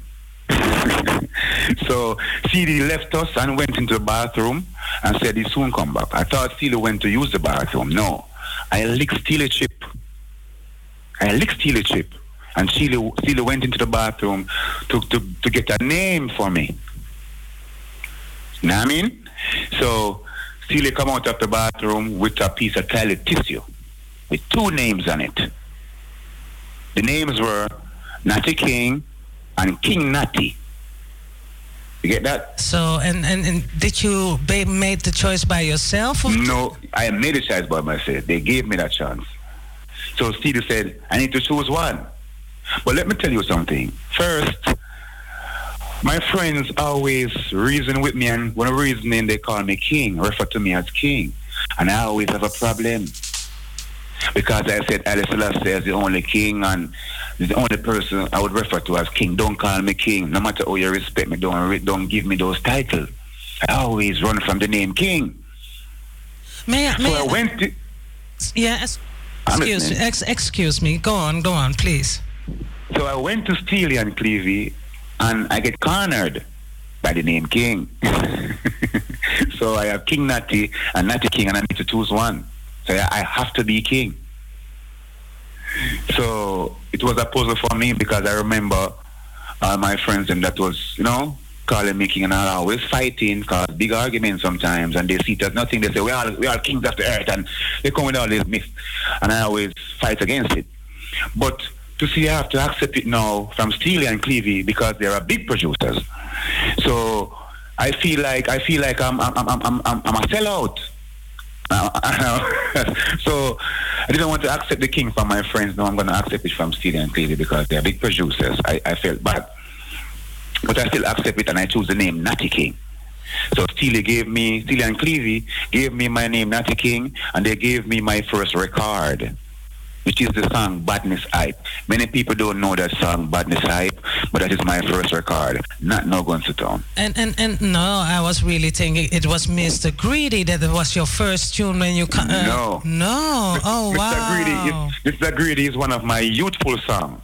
So Steely left us and went into the bathroom and said he'd soon come back. I thought Steely went to use the bathroom. No. I licked Steely chip. And Steely went into the bathroom to get a name for me. You know what I mean? So Steely come out of the bathroom with a piece of toilet tissue with 2 names on it. The names were Natty King and King Natty. You get that? So, and did you made the choice by yourself? No, I made the choice by myself. They gave me that chance. So Steely said, I need to choose one. But let me tell you something. First, my friends always reason with me, and one reasoning they call me King, refer to me as King. And I always have a problem. Because I said Haile Selassie is the only king and the only person I would refer to as king. Don't call me king. No matter how you respect me, don't give me those titles. I always run from the name king. I went to... Yes. Excuse me. Go on, please. So I went to Steely and Clevie and I get cornered by the name King. So I have King Natty and Natty King and I need to choose one. So I have to be king. So it was a puzzle for me because I remember all my friends and that was, calling me king and I always fighting, cause big arguments sometimes and they see it as nothing. They say, we are kings of the earth and they come with all this myth. And I always fight against it. But to see I have to accept it now from Steely and Clevie because they are big producers. So I feel like I'm a sellout. So I didn't want to accept the king from my friends. No, I'm going to accept it from Steely and Clevie because they're big producers. I felt bad. But I still accept it and I choose the name Natty King. So Steely and Clevie gave me my name Natty King and they gave me my first record, which is the song Badness Hype. Many people don't know that song Badness Hype, but that is my first record. Not No Guns to Town. And no, I was really thinking it was Mr. Greedy that it was your first tune when you... No. Oh, wow. Mr. Greedy is one of my youthful songs.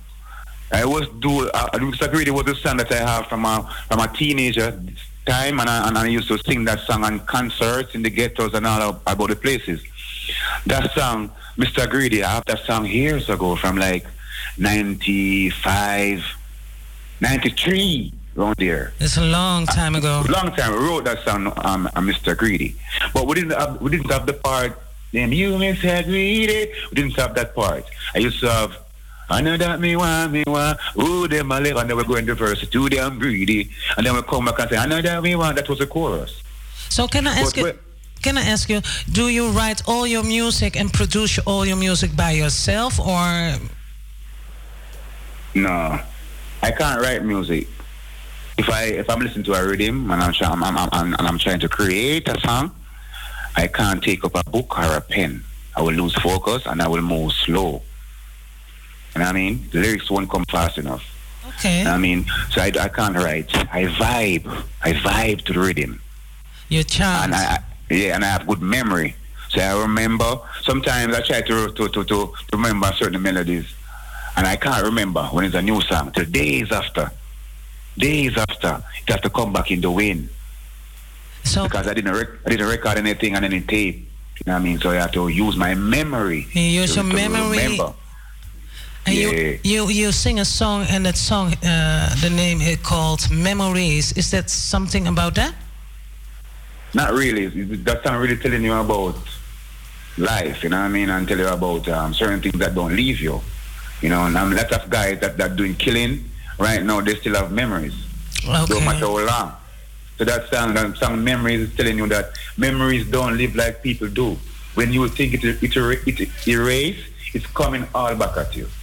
Mr. Greedy was a song that I have from a teenager time, and I used to sing that song on concerts in the ghettos and all about the places. That song, Mr. Greedy, I have that song years ago from like 95, 93, around there. It's a long time ago. Long time. I wrote that song on Mr. Greedy. But we didn't have the part, then you Mr. Greedy. We didn't have that part. I used to have, I know that me want, ooh, them a live, and then we're going to verse, too damn greedy. And then we come back and say, I know that me want, that was the chorus. So can I ask you, do you write all your music and produce all your music by yourself, or? No, I can't write music. If I'm listening to a rhythm and I'm trying to create a song, I can't take up a book or a pen. I will lose focus and I will move slow. You know what I mean? The lyrics won't come fast enough. Okay. You know what I mean? So I can't write. I vibe to the rhythm. Your chant. And I have good memory. So I remember. Sometimes I try to remember certain melodies, and I can't remember when it's a new song till days after. It has to come back in the wind. So because I didn't record anything on any tape. You know what I mean? So I have to use my memory. You use your memory. Remember. And yeah. you sing a song, and that song, the name is called Memories. Is that something about that? Not really. That song really telling you about life, you know what I mean, and tell you about certain things that don't leave you. You know, and lots of guys that doing killing right now, they still have memories. Okay. No matter how long. So that song Memories is telling you that memories don't live like people do. When you think it erase, it's coming all back at you.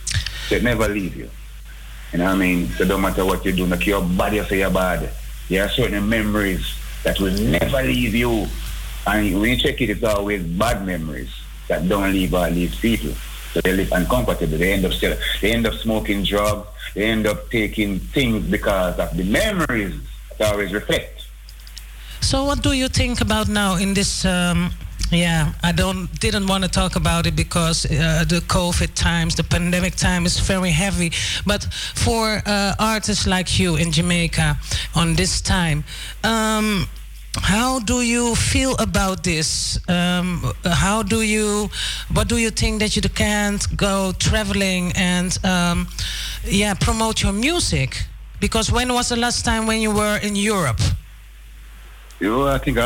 So it never leave you. You know what I mean? So no matter what you do, like your body say you're bad. There are certain memories that will never leave you. And when you check it, it's always bad memories that don't leave people. So they live uncomfortable. They end up smoking drugs. They end up taking things because of the memories that always reflect. So what do you think about now in this? I didn't want to talk about it because the COVID times, the pandemic time is very heavy. But for artists like you in Jamaica on this time, how do you feel about this? What do you think that you can't go traveling and promote your music? Because when was the last time when you were in Europe? I think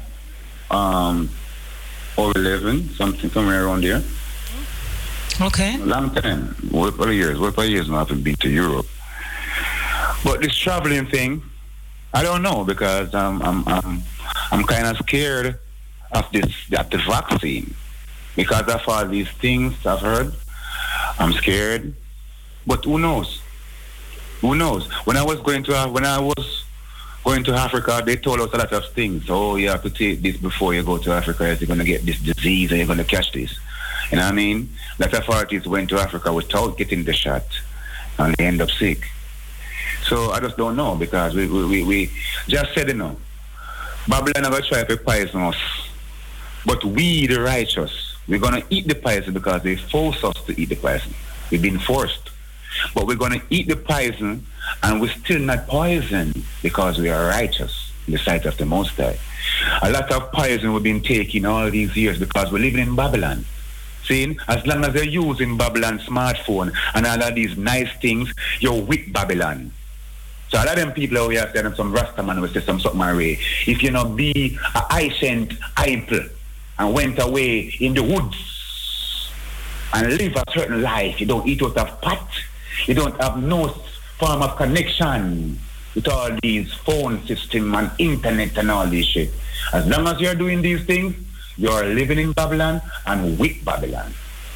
11, somewhere around there. Okay. Long time. What years now I haven't been to Europe. But this traveling thing, I don't know, because I'm kind of scared of the vaccine, because of all these things I've heard. I'm scared, but who knows? Who knows? When I was going to Africa, they told us a lot of things. Oh, you have to take this before you go to Africa. You're going to get this disease and you're going to catch this. You know what I mean? A lot of artists went to Africa without getting the shot, and they end up sick. So I just don't know, because we just said, Babylon never try to poison us. But we, the righteous, we're going to eat the poison because they force us to eat the poison. We've been forced. But we're going to eat the poison, and we're still not poisoned because we are righteous in the sight of the Most High. A lot of poison we've been taking all these years because we're living in Babylon. See, as long as they're using Babylon smartphone and all of these nice things, you're with Babylon. So a lot of them people out here saying some Rastaman will say something away. If you not be a ancient idol and went away in the woods and live a certain life, you don't eat out of pot, you don't have no form of connection with all these phone system and internet and all this shit. As long as you're doing these things, you're living in Babylon and with Babylon.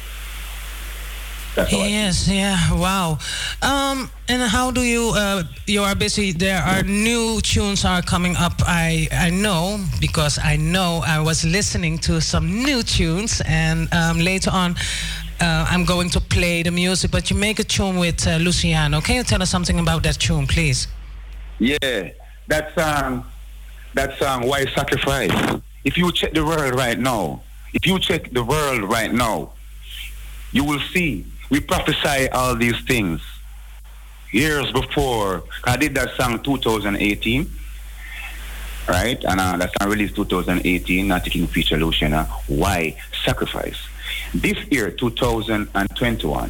Yes, wow. And how do you are busy, there are new tunes are coming up, I know, because I was listening to some new tunes, and later on I'm going to play the music, but you make a tune with Luciano. Can you tell us something about that tune, please? Yeah, that song, Why Sacrifice? If you check the world right now, you will see we prophesy all these things years before. I did that song 2018, right? And that song released 2018, not taking feature Luciana. Why Sacrifice? This year, 2021,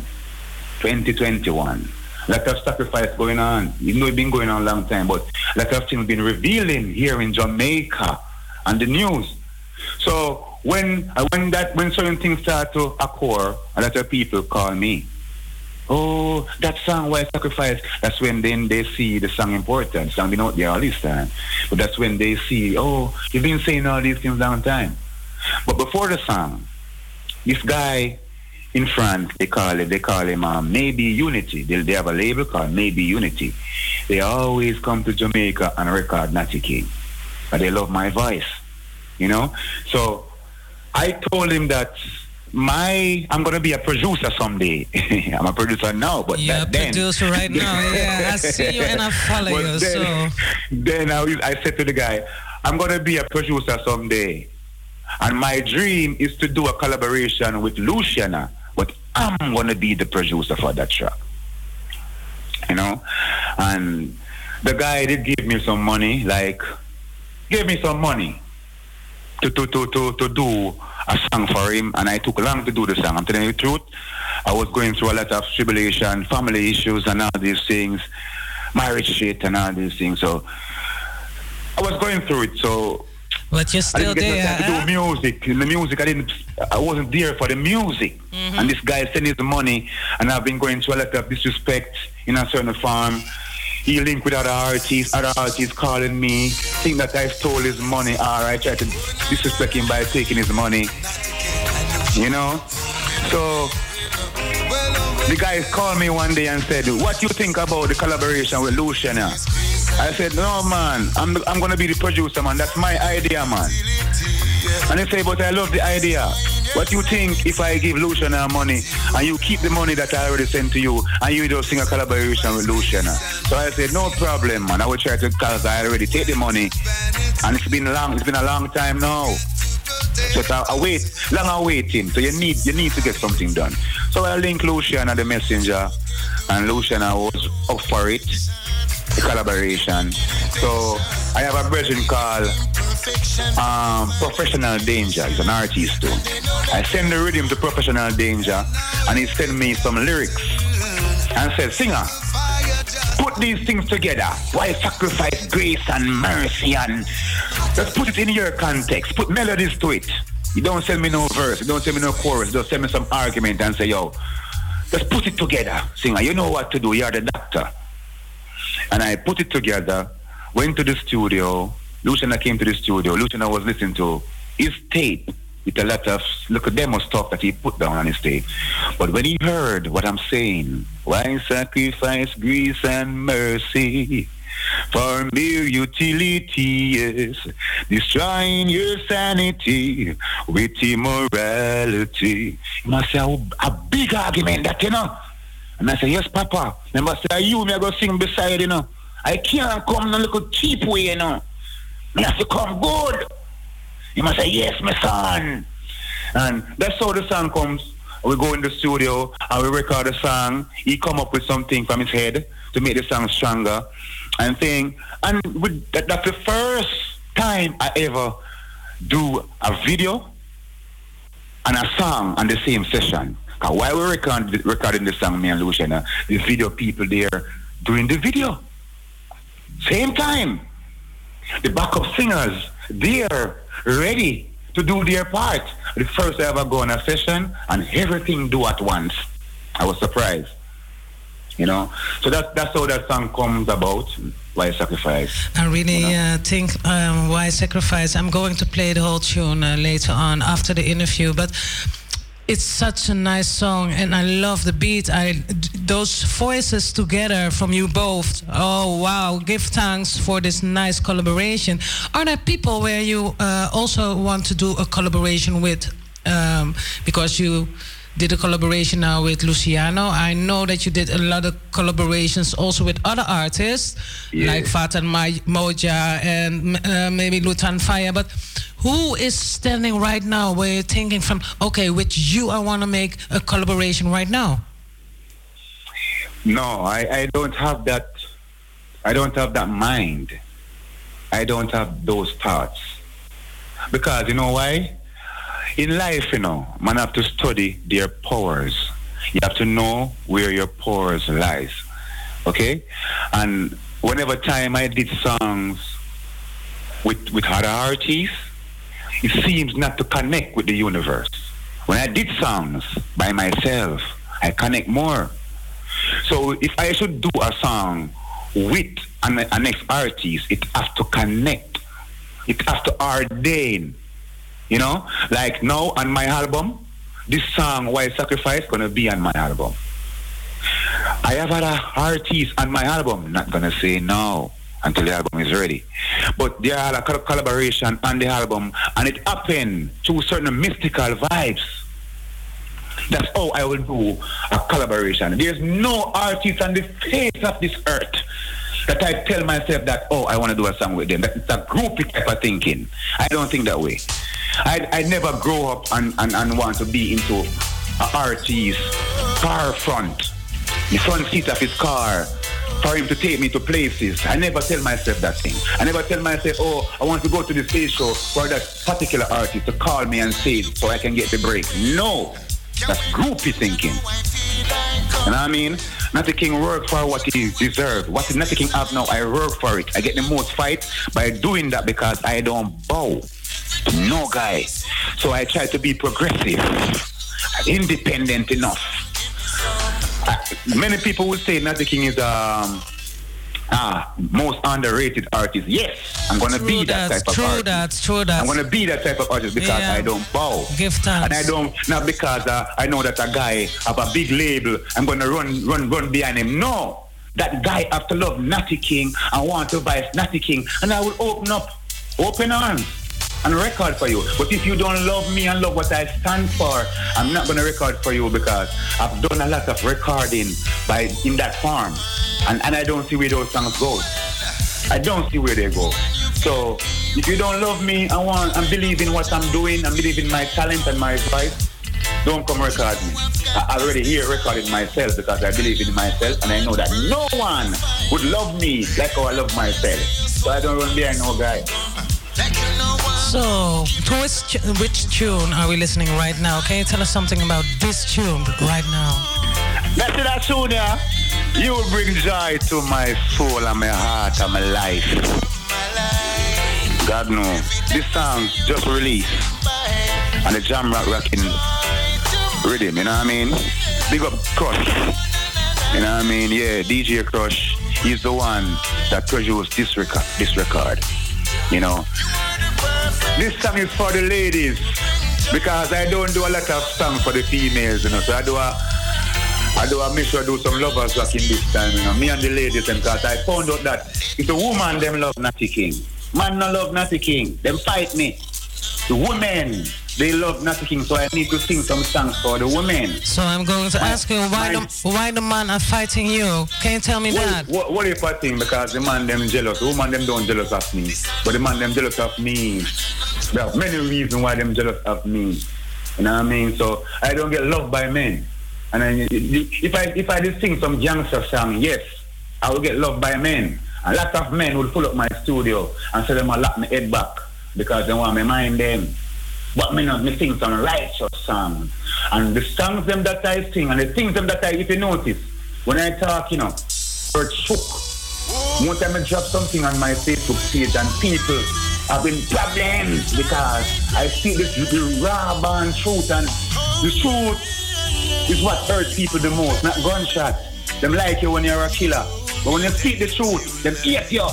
a lot of sacrifice going on. You know, it's been going on a long time, but a lot of things been revealing here in Jamaica and the news. So when certain things start to occur, a lot of people call me. Oh, that song, Why Sacrifice? That's when then they see the song important. Song been out there all this time. But that's when they see, oh, you've been saying all these things a long time. But before the song, this guy in France, they call him Maybe Unity. They have a label called Maybe Unity. They always come to Jamaica and record Natty King. But they love my voice, you know? So I told him that I'm going to be a producer someday. I'm a producer now, but you're a producer right now. Yeah, I see you and I follow you. Then I said to the guy, I'm going to be a producer someday. And my dream is to do a collaboration with Luciana, but I'm going to be the producer for that track. You know? And the guy did give me some money, to do a song for him, and I took long to do the song. I'm telling you the truth. I was going through a lot of tribulation, family issues and all these things, marriage shit and all these things. So I was going through it. So but you're still there. To do music. In the music, I wasn't there for the music. Mm-hmm. And this guy sent his money, and I've been going through a lot of disrespect in a certain form. He linked with other artists calling me, think that I stole his money, or I tried to disrespect him by taking his money. You know? So The guy called me one day and said, what do you think about the collaboration with Luciana? I said, no, man, I'm going to be the producer, man. That's my idea, man. And he said, but I love the idea. What do you think if I give Luciana money and you keep the money that I already sent to you and you just sing a collaboration with Luciana? So I said, no problem, man. I will try to, because I already take the money. And it's been a long time now. So long waiting. So you need to get something done. So I linked Luciana the messenger, and Luciana was up for it, the collaboration. So I have a version called Professional Danger. He's an artist too. I send the rhythm to Professional Danger, and he sent me some lyrics and said, singer, put these things together. Why sacrifice grace and mercy, and just put it in your context. Put melodies to it. You don't send me no verse. You don't send me no chorus. Just send me some argument and say, yo, just put it together. Singer, you know what to do. You're the doctor. And I put it together, went to the studio. Luciana came to the studio. Luciana was listening to his tape with a lot of demo stuff that he put down on his tape. But when he heard what I'm saying, why sacrifice grace and mercy for mere utility, yes, destroying your sanity with immorality. You must say a big argument that, you know. And I say, yes, Papa. Remember, say, you, me I go sing beside, you know. I can't come in a little cheap way, you know. Me have to come good. You must say, yes, my son. And that's how the song comes. We go in the studio and we record the song. He come up with something from his head to make the song stronger. And thing. And that's the first time I ever do a video and a song on the same session. Because while we're recording the song, me and Luciana, the video people there doing the video. Same time. The backup singers, they're ready to do their part. The first I ever go on a session and everything do at once. I was surprised. You know? So that's how that song comes about, Why Sacrifice. I really think Why Sacrifice. I'm going to play the whole tune later on after the interview, but it's such a nice song, and I love the beat. Those voices together from you both. Oh wow! Give thanks for this nice collaboration. Are there people where you also want to do a collaboration with? Because you did a collaboration now with Luciano. I know that you did a lot of collaborations also with other artists, like Fatan Moja and maybe Lutan Fire. But who is standing right now where you're thinking from, okay, with you I want to make a collaboration right now? No, I don't have that. I don't have that mind. I don't have those thoughts. Because you know why? In life, you know, man have to study their powers. You have to know where your powers lies. Okay? And whenever time I did songs with other artists, it seems not to connect with the universe. When I did songs by myself, I connect more. So if I should do a song with an next artist, it has to connect. It has to ordain. You know, like now on my album, this song Why Sacrifice gonna be on my album. I have other artists on my album, not gonna say no until the album is ready. But there are a collaboration on the album, and it happened through certain mystical vibes. That's how I will do a collaboration. There's no artist on the face of this earth that I tell myself that, oh, I want to do a song with them. That's a groupie type of thinking. I don't think that way. I never grow up and want to be into an artist car front, the front seat of his car, for him to take me to places. I never tell myself that thing. I never tell myself, oh, I want to go to the stage show for that particular artist to call me and say it so I can get the break. No, that's groupie thinking. You know what I mean? Natty King work for what he deserves. What Natty King have now, I work for it. I get the most fight by doing that because I don't bow to no guy. So I try to be progressive, independent enough. Many people would say Natty King is most underrated artist. Yes, I'm gonna be that type of artist. True that. I'm gonna be that type of artist because I don't bow. Give thanks. And I don't, not because I know that a guy have a big label, I'm gonna run behind him. No. That guy have to love Natty King and want to buy Natty King. And I will open arms and record for you. But if you don't love me and love what I stand for, I'm not going to record for you because I've done a lot of recording in that form. And I don't see where those songs go. I don't see where they go. So if you don't love me and believe in what I'm doing and believe in my talent and my voice, don't come record me. I already hear recording myself because I believe in myself and I know that no one would love me like how I love myself. So I don't run behind no guy. So, to which tune are we listening right now? Can you tell us something about this tune right now? That's that tune, yeah. You bring joy to my soul and my heart and my life. God knows. This song just released and the jam rocking rhythm, you know what I mean? Big up Crush. You know what I mean? Yeah, DJ Crush. He's the one that produced this record. You know? This song is for the ladies because I don't do a lot of songs for the females, you know. So I do make sure I do some lovers rock in this time, you know. Me and the ladies, and because I found out that if the woman them love Natty King, man no love Natty King, them fight me. The women, they love Natty King, so I need to sing some songs for the women. So I'm going to ask you why the man are fighting you. Can you tell me that? What if I think? Because the man them jealous. The woman them don't jealous of me. But the man them jealous of me. There are many reasons why them jealous of me. You know what I mean? So I don't get loved by men. And then if I did sing some gangster song, yes, I will get loved by men. A lot of men would pull up my studio and say them I lock my head back because they want me mind them. But me sing some righteous songs. And the songs them that I sing and the things them that if you notice, when I talk, you know, earth shook. One time I drop something on my Facebook page and people have been problems because I see the raw born truth, and the truth is what hurts people the most, not gunshot. Them like you when you're a killer. But when you speak the truth, them hate you.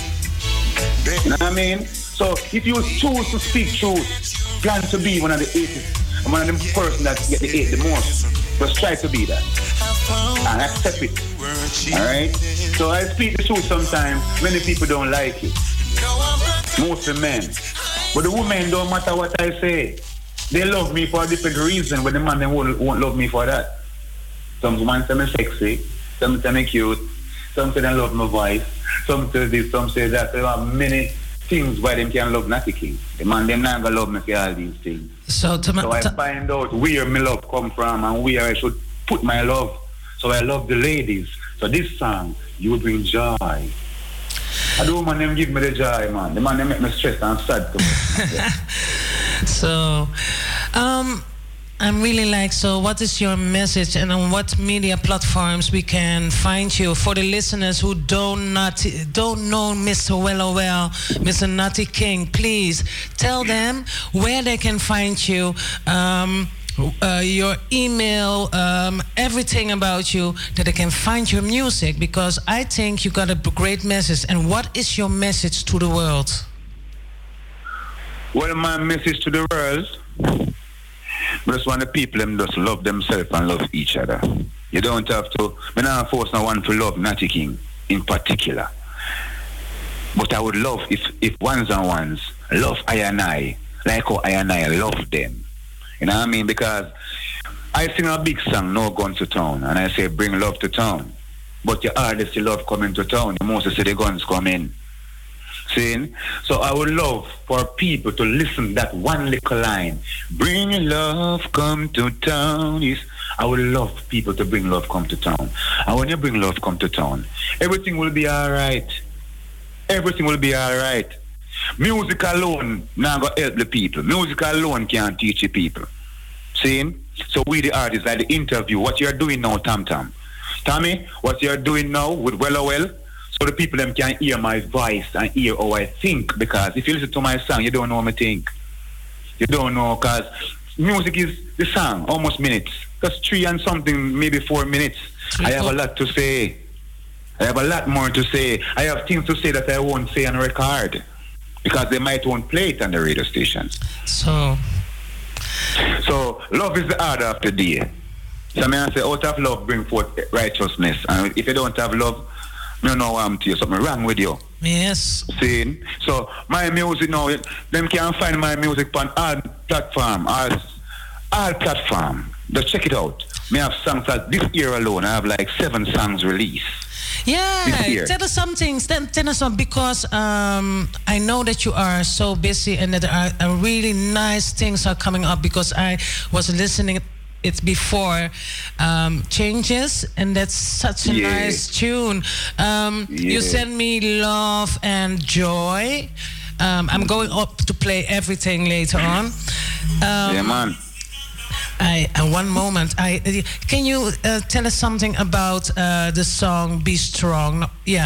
You know what I mean? So if you choose to speak truth, plan to be one of the atheists, and one of them person that get the hate the most, just try to be that. And accept it. Alright? So I speak the truth sometimes, many people don't like it. Most of the men. But the women don't matter what I say. They love me for a different reason, but the man then won't love me for that. Some women say I'm sexy, some say I'm cute, some say they love my voice, some say this, some say that. There are many things why them can love Natty King. The man them not gonna love me for all these things. So I find out where my love come from and where I should put my love. So I love the ladies. So this song, You Bring Joy. I don't want them give me the joy, man. The man they make me stressed and sad too. So, I'm really like, so what is your message and on what media platforms we can find you for the listeners who don't know Mr. Well, Mr. Natty King? Please tell them where they can find you, your email, everything about you, that they can find your music, because I think you got a great message. And what is your message to the world? Well, my message to the world, I just want the people them just love themselves and love each other. You don't have to, I'm not force no one to love Natty King in particular. But I would love if ones and ones love I and I, like how I and I love them. You know what I mean? Because I sing a big song, No Gun to Town, and I say bring love to town. But your hardest love coming to town, the most you see the guns come in. See? So I would love for people to listen to that one little line. Bring love, come to town. I would love people to bring love, come to town. And when you bring love, come to town, everything will be all right. Everything will be all right. Music alone not going to help the people. Music alone can't teach the people. See? So we the artists, like the interview, what you're doing now, Tommy, what you're doing now with Well, so the people them can hear my voice and hear how I think. Because if you listen to my song, you don't know how I think. You don't know, because music is the song, almost minutes. That's 3 and something, maybe 4 minutes. I have a lot to say. I have a lot more to say. I have things to say that I won't say on record because they might won't play it on the radio station. So love is the order of the day. So I say, out of love bring forth righteousness. And if you don't have love, you don't know I'm to you. Something wrong with you. Yes. See? So my music now, them can find my music on all platform. All platform. Just check it out. Me have songs that this year alone. I have like 7 songs released. Yeah, tell us something. Tell us something because I know that you are so busy and that there are really nice things are coming up because I was listening it before Changes and that's such a nice tune. You send me Love and Joy. I'm going up to play everything later on. Yeah, man. One moment. Can you tell us something about the song "Be Strong"?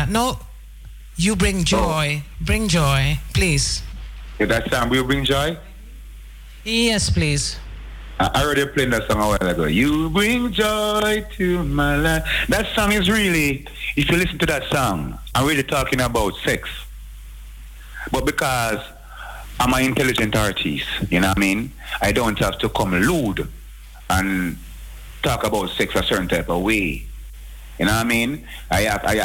You bring joy. Bring joy, please. Yeah, that song will bring joy. Yes, please. I already played that song a while ago. You bring joy to my life. That song is really, if you listen to that song, I'm really talking about sex. But because I'm an intelligent artist, you know what I mean? I don't have to come lewd and talk about sex a certain type of way. You know what I mean? I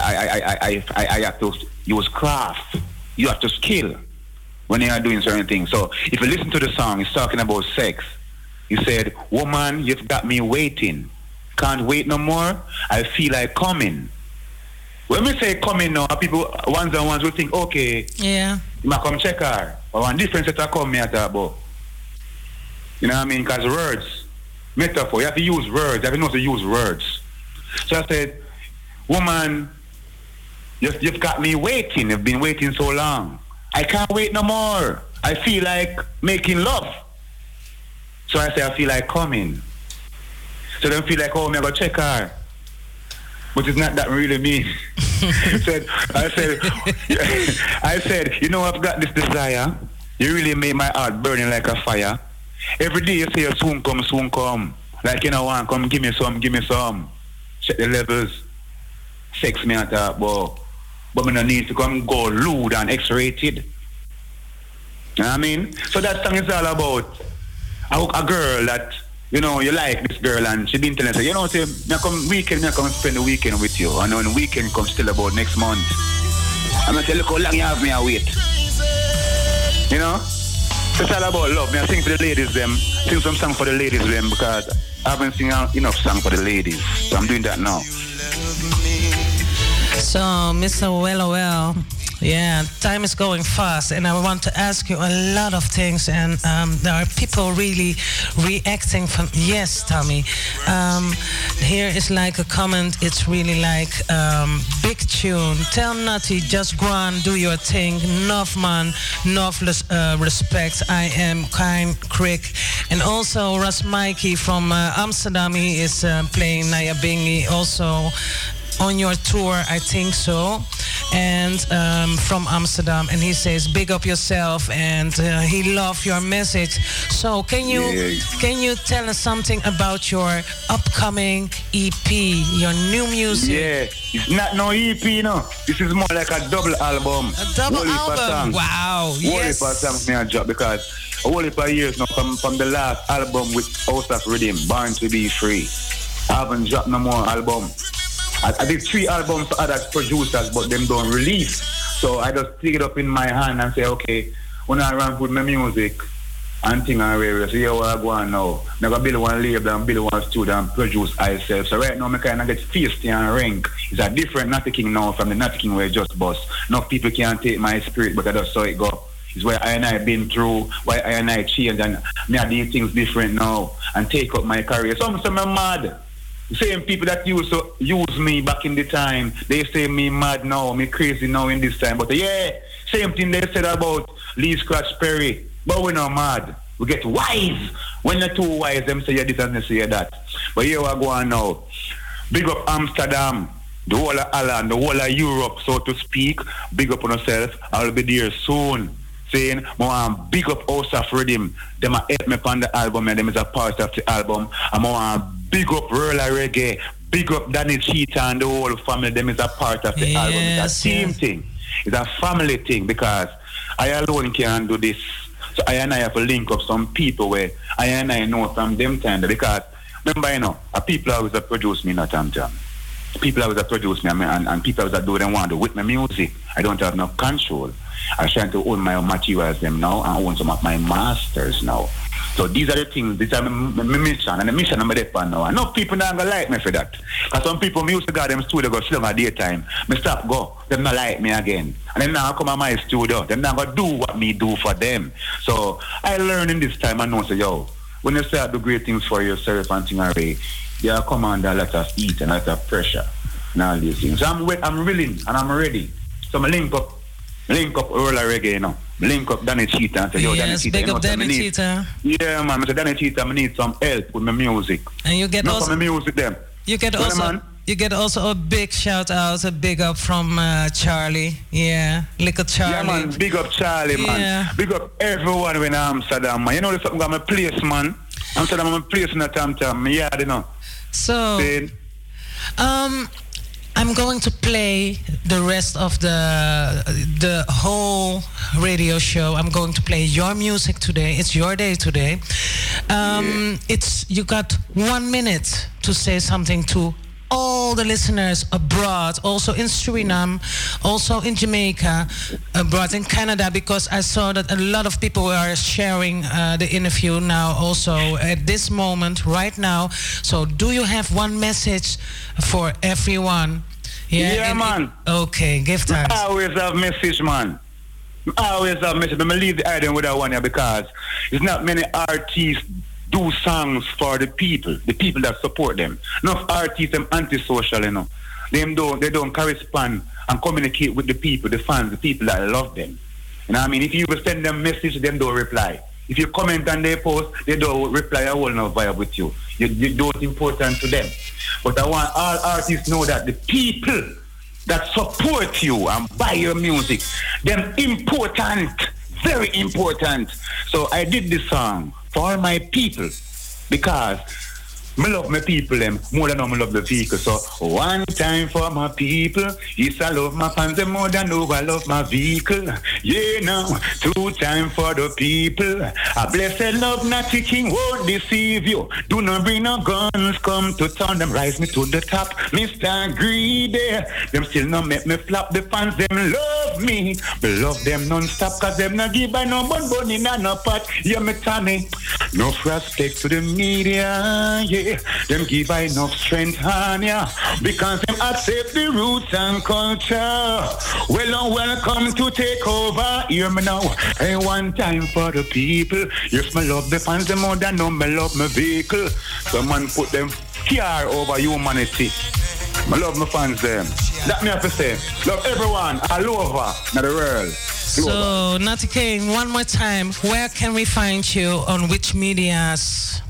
have to use craft. You have to skill when you are doing certain things. So if you listen to the song, it's talking about sex. He said, woman, you've got me waiting. Can't wait no more. I feel like coming. When we say coming now, people, ones and ones will think, okay, yeah, you might come check her. Or one different set of come me at about. You know what I mean? Because words, metaphor, you have to use words. You have to know how to use words. So I said, woman, you've got me waiting. You've been waiting so long. I can't wait no more. I feel like making love. So I say, I feel like coming. So they feel like, oh, I'm going to check her. But it's not that really me. I said, you know, I've got this desire. You really made my heart burning like a fire. Every day you say, soon come, soon come. Like, you know, one, come, give me some, give me some. Check the levels. Sex me at that, but I don't need to come go lewd and X-rated. You know what I mean? So that song is all about a girl that, you know, you like this girl and she been telling us, you know, say, me come weekend, me come spend the weekend with you. And when the weekend comes still about next month. I'm going to say, look how long you have me a wait. You know? It's all about love. Me I sing for the ladies them. Sing some song for the ladies them because I haven't sing enough song for the ladies. So I'm doing that now. So, Mr. Well, yeah, time is going fast, and I want to ask you a lot of things, and there are people really reacting from, yes, Tommy. Here is like a comment, it's really like, big tune. Tell Nutty, just go on, do your thing. Enough man, enough respect. I am kind, quick. And also, Ras Mikey from Amsterdam, he is playing Naya Bingi, also on your tour, I think so, and from Amsterdam, and he says big up yourself, and he loved your message. So can you tell us something about your upcoming EP, your new music? Yeah, it's not no EP, no. This is more like a double album. A double album. Wow. Yes. Whole songs me a job because a whole heap of years now from the last album with House of Rhythm, Born to Be Free. I haven't dropped no more album. I did 3 albums for other producers, but them don't release. So I just take it up in my hand and say, okay, when I run with my music and thing and radio, so here I go on now. I'm going to build one label and build one studio and produce myself. So right now I kind of get feisty and rank. It's a different Natty King now from the Natty King where I just bust. No people can't take my spirit, but I just saw it go. It's where I and I been through, why I and I changed, and me I do things different now and take up my career. So I'm mad. Same people that used to use me back in the time, they say me mad now, me crazy now in this time. But yeah, same thing they said about Lee Scratch Perry. But we're not mad. We get wise. When you're too wise, them say this and they say that. But here we go on now. Big up Amsterdam, the whole of Holland, the whole of Europe, so to speak. Big up on yourself. I'll be there soon. Saying, big up House of Rhythm. Them help me on the album and them is a part of the album. I'm big up Roller Reggae, big up Danny Cheetah and the whole family. Them is a part of the album. It's a team thing. It's a family thing because I alone can't do this. So I and I have to link up some people where I and I know from them time because remember, you know, people always produce me not Tam. People always produce me and people always do them want to with my music. I don't have enough control. I'm trying to own my materials them now and own some of my masters now. So these are the things, these are my mission, and the mission I'm there for now. I know people not gonna like me for that. Because some people me used to go to them studio go slung at daytime. Me stop go, them not like me again. And then now I come to my studio, them not gonna do what me do for them. So I learn in this time and know say, yo, when you start to do great things for yourself and things already, you come under a lot of heat and a lot of pressure and all these things. So I'm willing and I'm ready. So I link up Roller Reggae, you know. Link up Danny Cheetah and say, yo, Danny Cheetah, big up Danny Cheetah. Yeah, man. I said, Danny Cheetah, I need some help with my music. And you get also... my music, them. You get also a big shout out, a big up from Charlie. Yeah, little Charlie. Yeah, man. Big up Charlie, man. Big up everyone when I'm Amsterdam, man. You know, there's something got my place, man. Amsterdam, I'm a place in the Tam. Yeah, you know. So, I'm going to play the rest of the whole radio show. I'm going to play your music today. It's your day today. You got 1 minute to say something to all the listeners abroad, also in Suriname, also in Jamaica, abroad in Canada, because I saw that a lot of people are sharing the interview now also at this moment, right now. So do you have one message for everyone? Yeah, man. Okay, give thanks. I always have message, man. I always have message. I'm going to leave the item with that one here because there's not many artists do songs for the people that support them. Enough artists them antisocial, you know. They don't correspond and communicate with the people, the fans, the people that love them. You know what I mean? If you send them message, them don't reply. If you comment on their post, they don't reply. I will not vibe with you. You don't important to them. But I want all artists know that the people that support you and buy your music, them important, very important. So I did this song for all my people because I love my people them more than I love the vehicle. So one time for my people, yes, I love my fans them more than I love my vehicle. Yeah, now 2 times for the people. A blessed love, Natty King won't deceive you. Do not bring no guns, come to town, them rise me to the top. Mr. Greedy, them still not make me flop. The fans them love me, but love them non-stop, cause them not give by no bun in no pot. Yeah, me Tommy, no respect to the media, yeah. Them give enough strength on ya because them accept the roots and culture. Well and welcome to take over. Hear me now. Hey, one time for the people. Yes, me love the fans them more than me love my vehicle. Someone put them fear over humanity. I love my fans them. That me have to say. Love everyone all over in the world. So, Natty King, one more time. Where can we find you on which medias?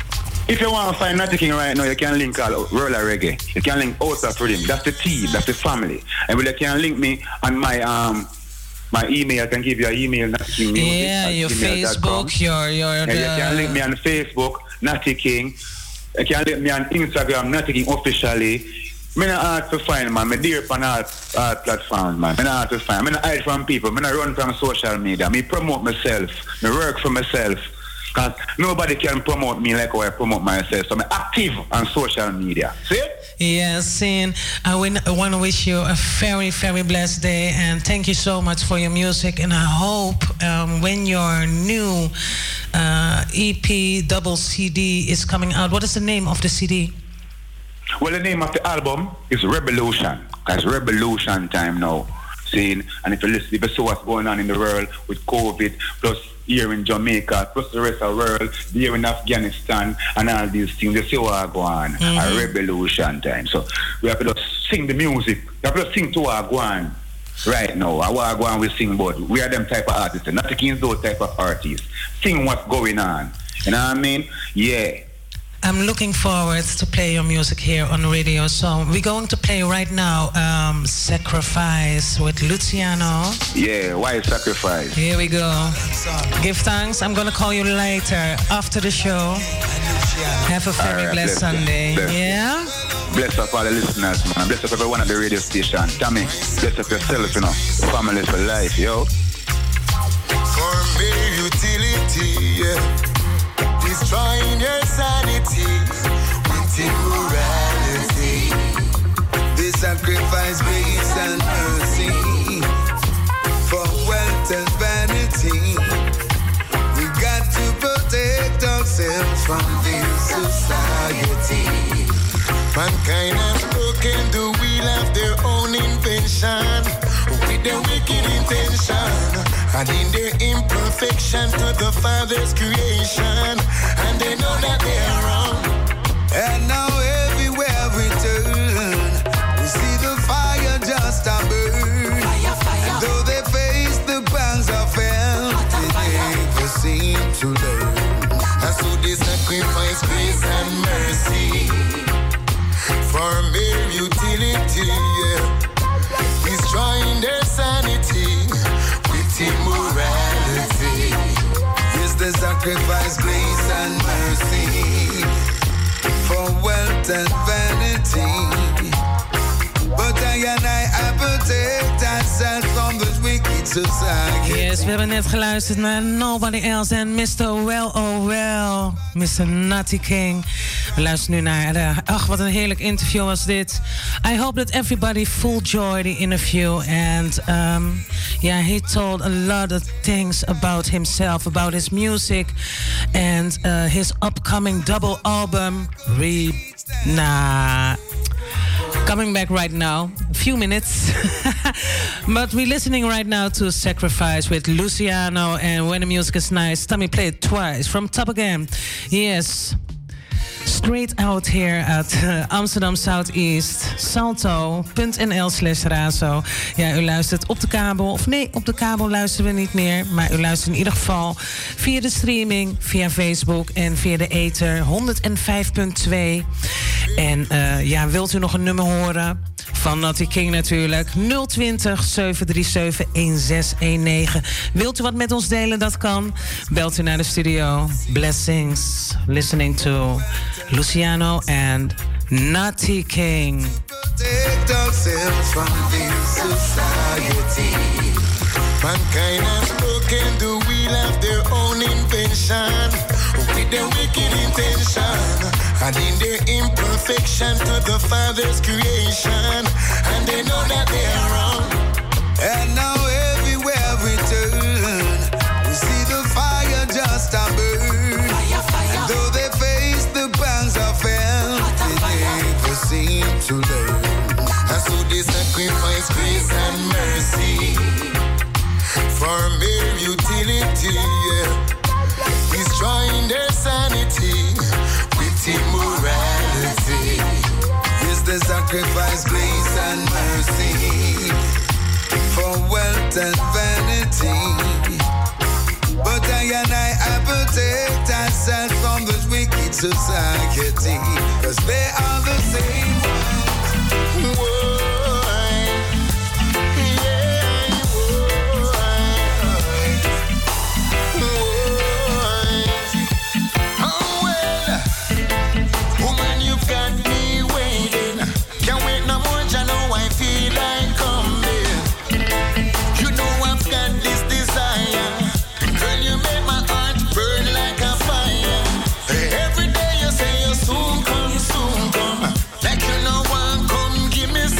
If you want to find Natty King right now, you can link all Roller Reggae. You can link Outer Freedom. That's the team, that's the family. And you can link me on my my email. I can give you an email, Natty King Music. Yeah, your Facebook, your you can link me on Facebook, Natty King. You can link me on Instagram, Natty King officially. I'm not hard to find, man. I'm there on all platforms, man. I'm not hard to find. I'm not hide from people. I'm not run from social media. I promote myself. I work for myself. Because nobody can promote me like how I promote myself. So I'm active on social media. See? Yes, Sin. I want to wish you a very, very blessed day. And thank you so much for your music. And I hope when your new EP double CD is coming out. What is the name of the CD? Well, the name of the album is Revolution. Because Revolution time now. See? And if you see what's going on in the world with COVID, plus here in Jamaica, plus the rest of the world, here in Afghanistan, and all these things. You see what go on. A revolution time. So we have to just sing the music. We have to sing to our go on right now. Our go on we sing, but we are them type of artists. Not against those type of artists. Sing what's going on. You know what I mean? Yeah. I'm looking forward to play your music here on radio. So we're going to play right now Sacrifice with Luciano. Yeah, why Sacrifice? Here we go. Give thanks. I'm going to call you later after the show. Have a very blessed Sunday. Yeah? Bless up all the listeners, man. Bless up everyone at the radio station. Tommy, bless up yourself, you know. Family for life, yo. For mere utility, yeah. Destroying your sanity with immorality. They sacrifice grace and mercy for wealth and vanity. We got to protect ourselves from this society. Mankind has broken the wheel of their own invention with their wicked intention, and in their imperfection to the Father's creation, and they know that they are wrong. And now everywhere we turn, we see the fire just a burn. And though they face the pangs of hell, they never seem to learn. And so they sacrifice grace and mercy for mere utility, yeah. Destroying their sanity with immorality. Yes, they sacrifice grace and mercy for wealth and vanity. But I protect ourselves from this wicked society. Yes, we hebben net geluisterd naar Nobody Else en Mr. Well Oh Well, Mr. Nutty King. We luisteren nu naar ach, wat een heerlijk interview was dit. I hope that everybody full joy the interview. And yeah, he told a lot of things about himself, about his music, and his upcoming double album. Coming back right now, a few minutes. But we're listening right now to Sacrifice with Luciano, and when the music is nice, Tommy play it twice from top again. Yes. Straight out here at Amsterdam Southeast, salto.nl/razo. Ja, u luistert op de kabel. Of nee, op de kabel luisteren we niet meer. Maar u luistert in ieder geval via de streaming, via Facebook en via de ether 105.2. En ja, wilt u nog een nummer horen? Van Nutty King natuurlijk. 020 737 1619. Wilt u wat met ons delen? Dat kan. Belt u naar de studio. Blessings. Listening to Luciano and Nutty King. Protect ourselves from this society. Mankind has broken the wheel of their own invention with their wicked intention, and in their imperfection to the Father's creation, and they know that they are wrong. And now everywhere we turn, we see the fire just a burn. And though they face the pangs of hell, they never seem to learn. And so they sacrifice grace and mercy for mere utility, yeah. Destroying their sanity with immorality. Yes, they sacrifice grace and mercy for wealth and vanity. But I protect ourselves from this wicked society, 'cause they are the same ones. Whoa. Soon come, like you know one, come give me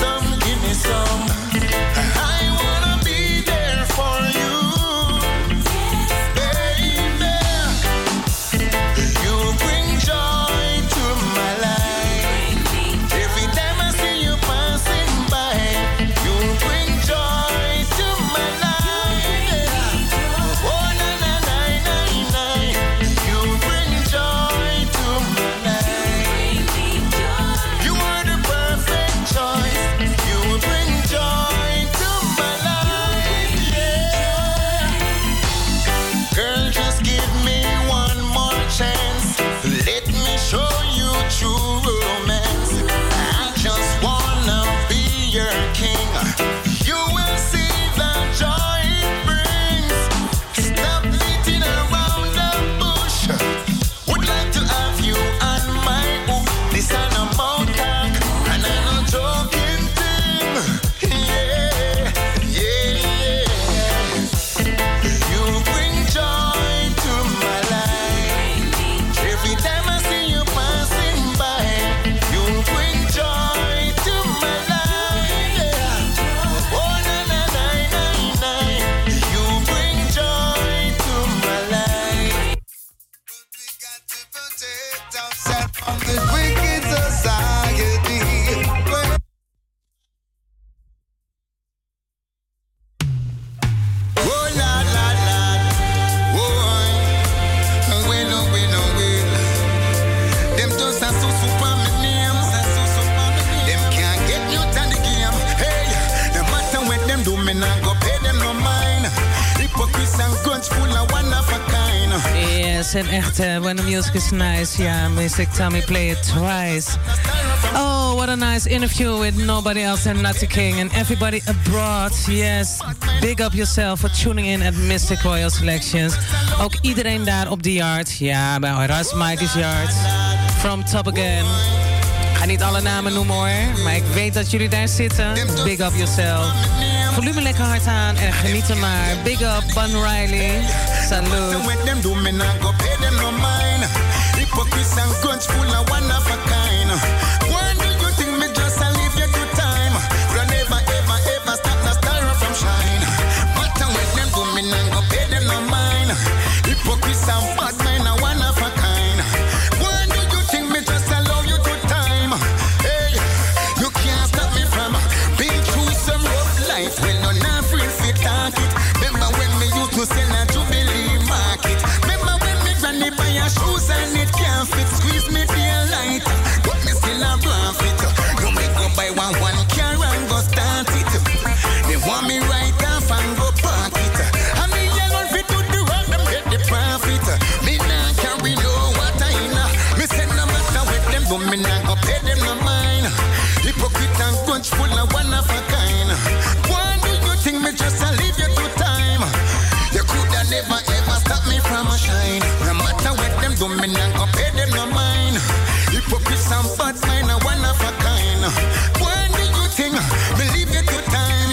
Yes, en echt, when the music is nice, yeah, Mystic Tommy play it twice. Oh, what a nice interview with nobody else than Natty King and everybody abroad. Yes, big up yourself for tuning in at Mystic Royal Selections. Ook iedereen daar op de yard. Ja, bij Ras Mike's Yard. From Top Again. Ik ga niet alle namen noemen hoor, maar ik weet dat jullie daar zitten. Big up yourself. Volume lekker hard aan en geniet er maar. Big up, Bun Riley. Salute. Hypocrites and guns full of one of a kind. Why do you think me just a leave you to time? But never ever ever stop the star from shine. But when them do me now go pay them no mind. Hypocrites and bad men are one of a kind. Why do you think me just allow you to time? Hey, you can't stop me from being through some rough life. When no not free fit talk it. Remember when me used to sell a Jubilee market. Remember when me granny buy a shoes and it can't fit. Squeeze me feel light, but me still a profit. You me go buy one car and go start it. They want me right off and go park it. And me alone fit to the road, them get the profit. Me nah carry no water in. Me say no matter what them do, me nah go pay them no mind. Hypocrite and grudge full of one of a kind. Why do you think me just a leave you to time? You coulda never ever stop me from a shine. No matter what them do, me nah go pay them no mind. Hypocrites and bad mind are one of a kind. Why do you think me leave you to time?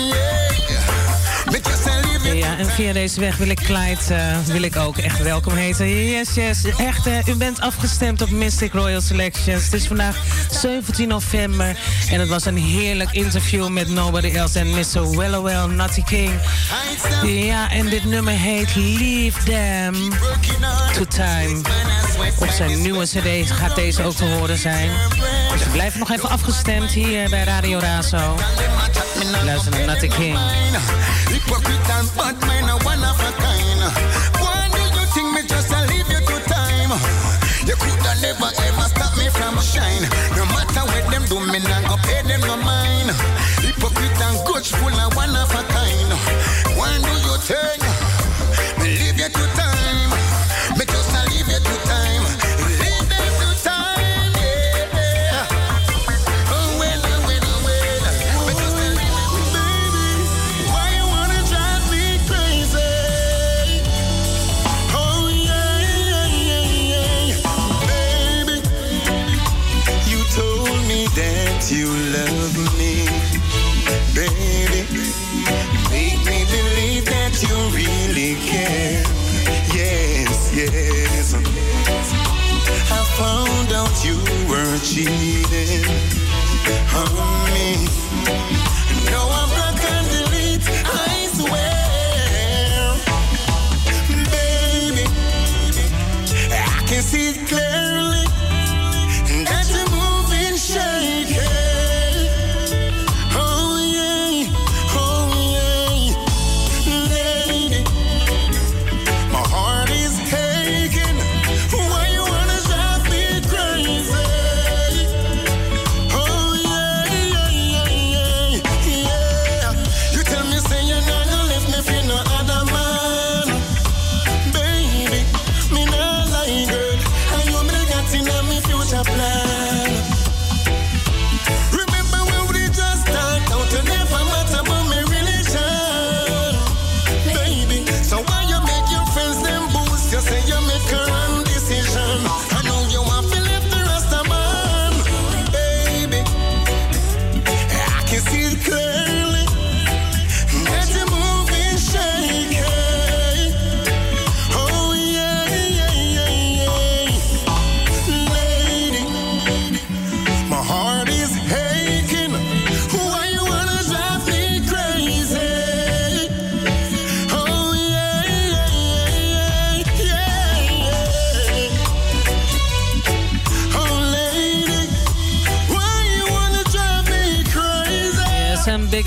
Yeah, me just a leave you. Ja, en via deze weg wil ik Clyde wil ik ook echt welkom heten. Yes, yes. Echt, u bent afgestemd op Mystic Royal Selections. Het is vandaag 17 november. En het was een heerlijk interview met nobody else than Mr. Wellowell, Natty King. Ja, en dit nummer heet Leave Them to Time. Op zijn nieuwe cd gaat deze ook te horen zijn. Dus we blijven nog even afgestemd hier bij Radio Razo. Luister naar Natty King. Hypocrite and bad man are one of a kind. Why do you think me just a leave you to time? You coulda never ever stop me from shine. No matter what them do, me nah go pay them no mind. Hypocrite and grudge full of one of a kind. Why do you think me leave you to time? Me just a leave you to time. Leave them to time, yeah. Oh well, oh well, oh well. Me just a leave you, baby. Why you wanna drive me crazy? Oh yeah, yeah, yeah, yeah. Baby, you told me that you love me, baby. Make me believe that you really care. Yes, yes. I found out you were cheating on me. No, I'm not gonna delete, I swear. Baby, I can see it clearly that you're moving shaky. Oh yeah, lady. My heart is aching. Why you wanna drive me crazy? Oh yeah,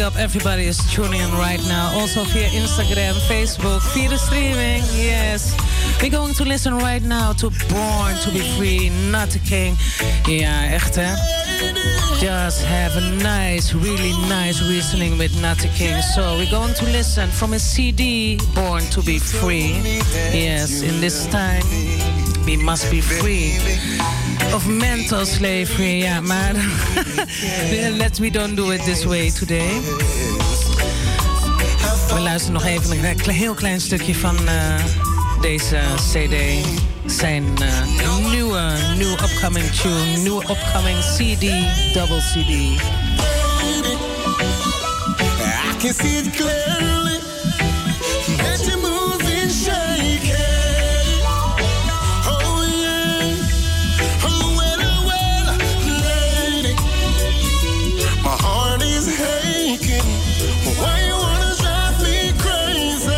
up everybody is tuning in right now. Also via Instagram, Facebook, via the streaming. Yes. We're going to listen right now to Born to be Free, Nutty King. Ja, echt hè. Just have a nice, really nice listening with Nutty King. So we're going to listen from his CD, Born to be Free. Yes, in this time, we must be free of mental slavery. Ja, maar we don't do it this way today. We luisteren nog even een heel klein stukje van deze CD. Zijn nieuwe upcoming tune, nieuwe upcoming CD, double CD. I can see it clearly. That you're moving, shaking. Oh yeah, oh well, lady. My heart is aching. Why you wanna drive me crazy?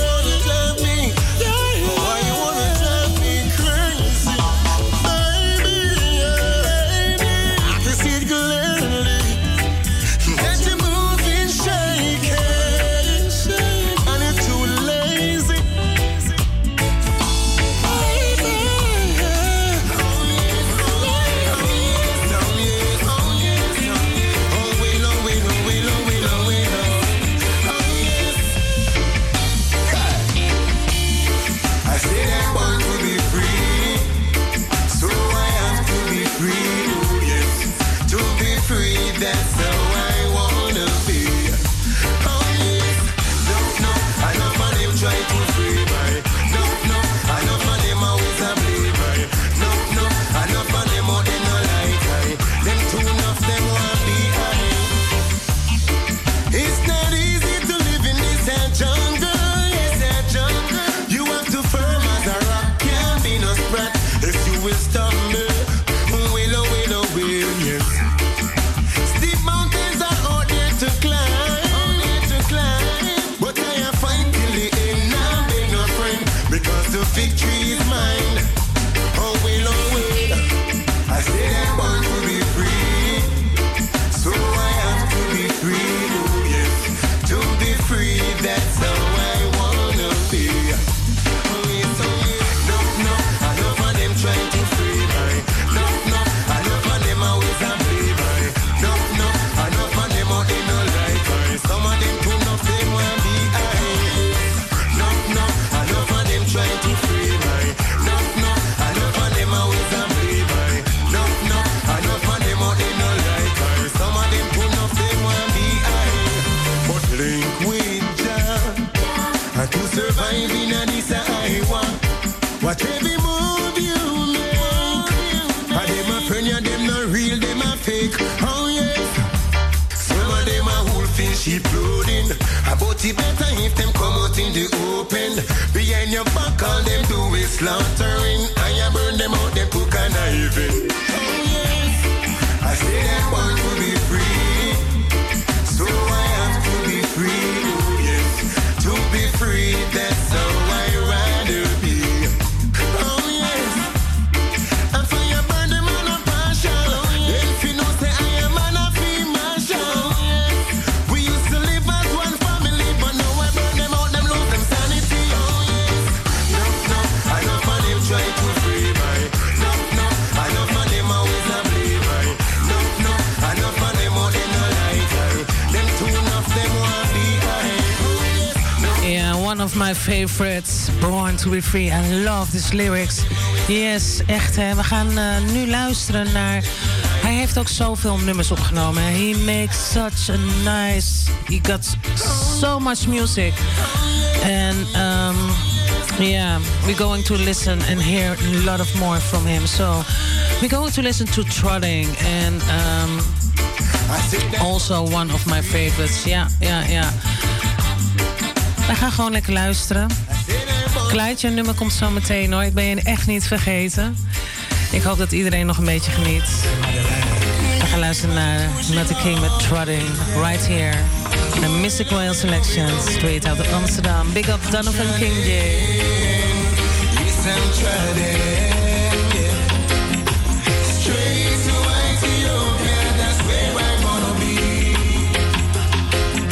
My favorites, Born to be Free. I love these lyrics. Yes, echt hè. We gaan nu luisteren naar... Hij heeft ook zoveel nummers opgenomen. He makes such a nice... He got so much music. And yeah, we're going to listen and hear a lot of more from him. So we're going to listen to Trotting. And also one of my favorites. Ja. We gaan gewoon lekker luisteren. Kleidje, nummer komt zo meteen hoor. Ik ben je echt niet vergeten. Ik hoop dat iedereen nog een beetje geniet. We gaan luisteren naar Nutty King met Trotting. Right here. The Mystic Royal Selection. Straight out of Amsterdam. Big up Donovan King J. Straight to Ethiopia, that's where I wanna be.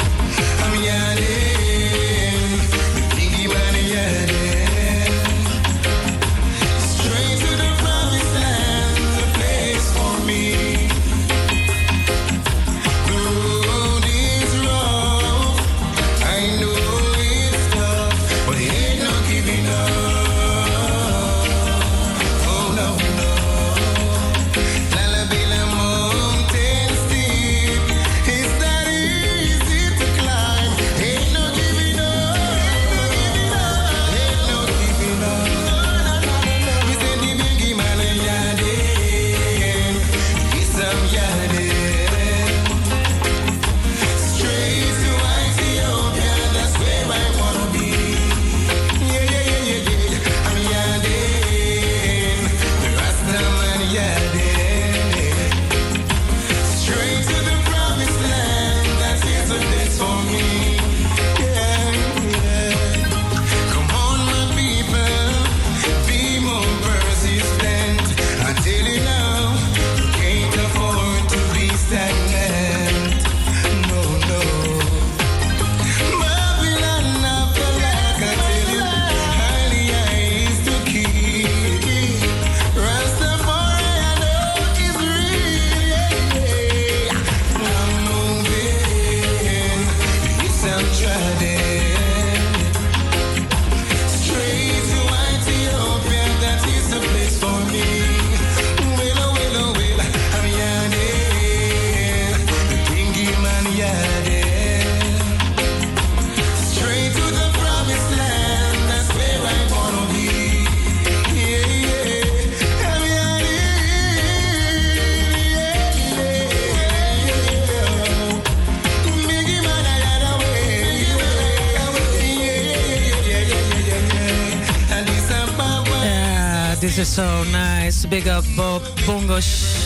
this is so nice. Big up Bongo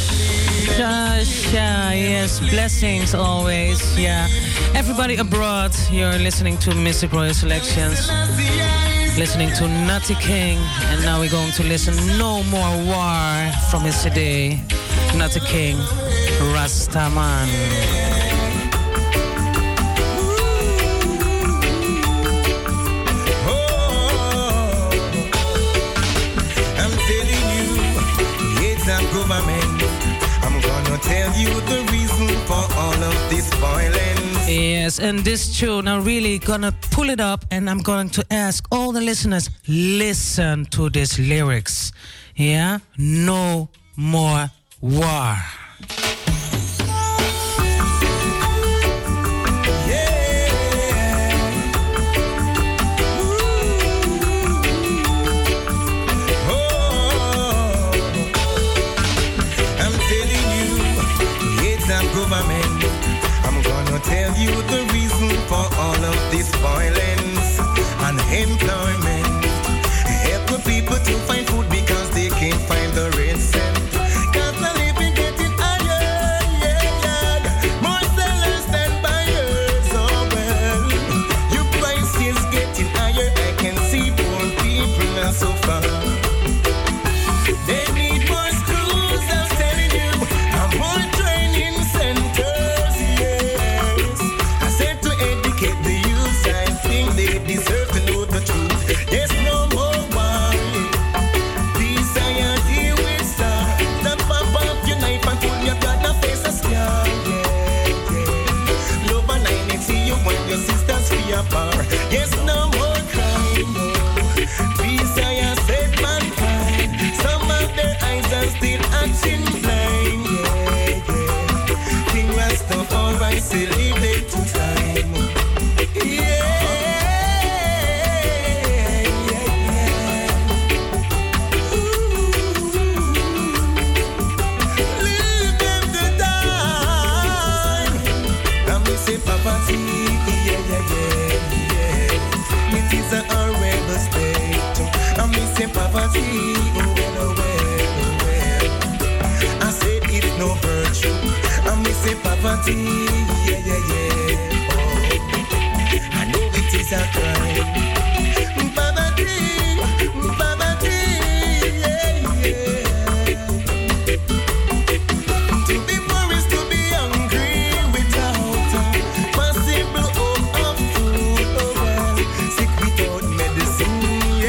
Shasha. Yes, blessings always. Yeah. Everybody abroad, you're listening to Mystic Royal Selections. Listening to Nutty King. And now we're going to listen No More War from his CD. Nutty King, Rastaman. Government, I'm gonna tell you the reason for all of this violence. Yes, and this tune, I'm really gonna pull it up and I'm going to ask all the listeners, listen to these lyrics. Yeah? No more war. Government, I'm gonna tell you the reason for all of this violence. Unemployment, help the people to find food because they can't find the red cent. Cause the living getting higher, more sellers than buyers. Oh well, your price is getting higher. I can see poor people are so far. They need more schools, I'm telling you, and more training centers, yes. I said to educate the youth, I think they deserve to know the truth. There's no more war. Peace I am here with star. Don't pop up your knife and pull your brother face a scar. Love and I need see you when your sisters free apart. Yes, no more crime. Peace I have said mankind. Some of their eyes are still acting blind. King Rastafari still leave it to time. Leave them to die. And we say poverty, it is a horrible state. And we say poverty, I said it's no virtue. And we say poverty, oh, I know it is a crime. Poverty, poverty, To be poor is to be hungry without possible hope of food. Oh well, sick without medicine,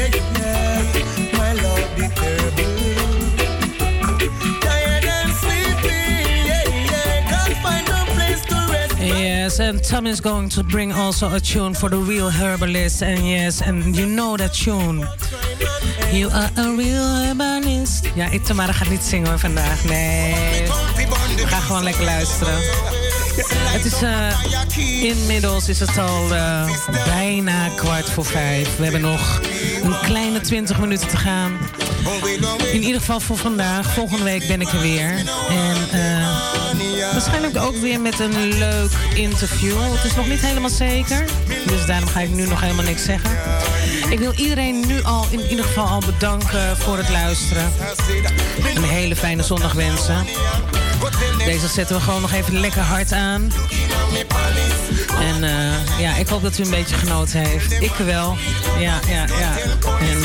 my Lord the terrible. Tired and sleepy, can't find no place to rest. Yes, and Tom is going to bring also a tune for the real herbalist. And yes, and you know that tune. You are a real herbalist. Ja, Itamara gaat niet zingen hoor vandaag. Nee, we gaan gewoon lekker luisteren. Het is inmiddels is het al bijna 4:15. We hebben nog een kleine 20 minuten te gaan. In ieder geval voor vandaag. Volgende week ben ik er weer. En waarschijnlijk ook weer met een leuk interview. Het is nog niet helemaal zeker. Dus daarom ga ik nu nog helemaal niks zeggen. Ik wil iedereen nu al in ieder geval al bedanken voor het luisteren. Een hele fijne zondag wensen. Deze zetten we gewoon nog even lekker hard aan. En ja, ik hoop dat u een beetje genoten heeft. Ik wel. Ja. En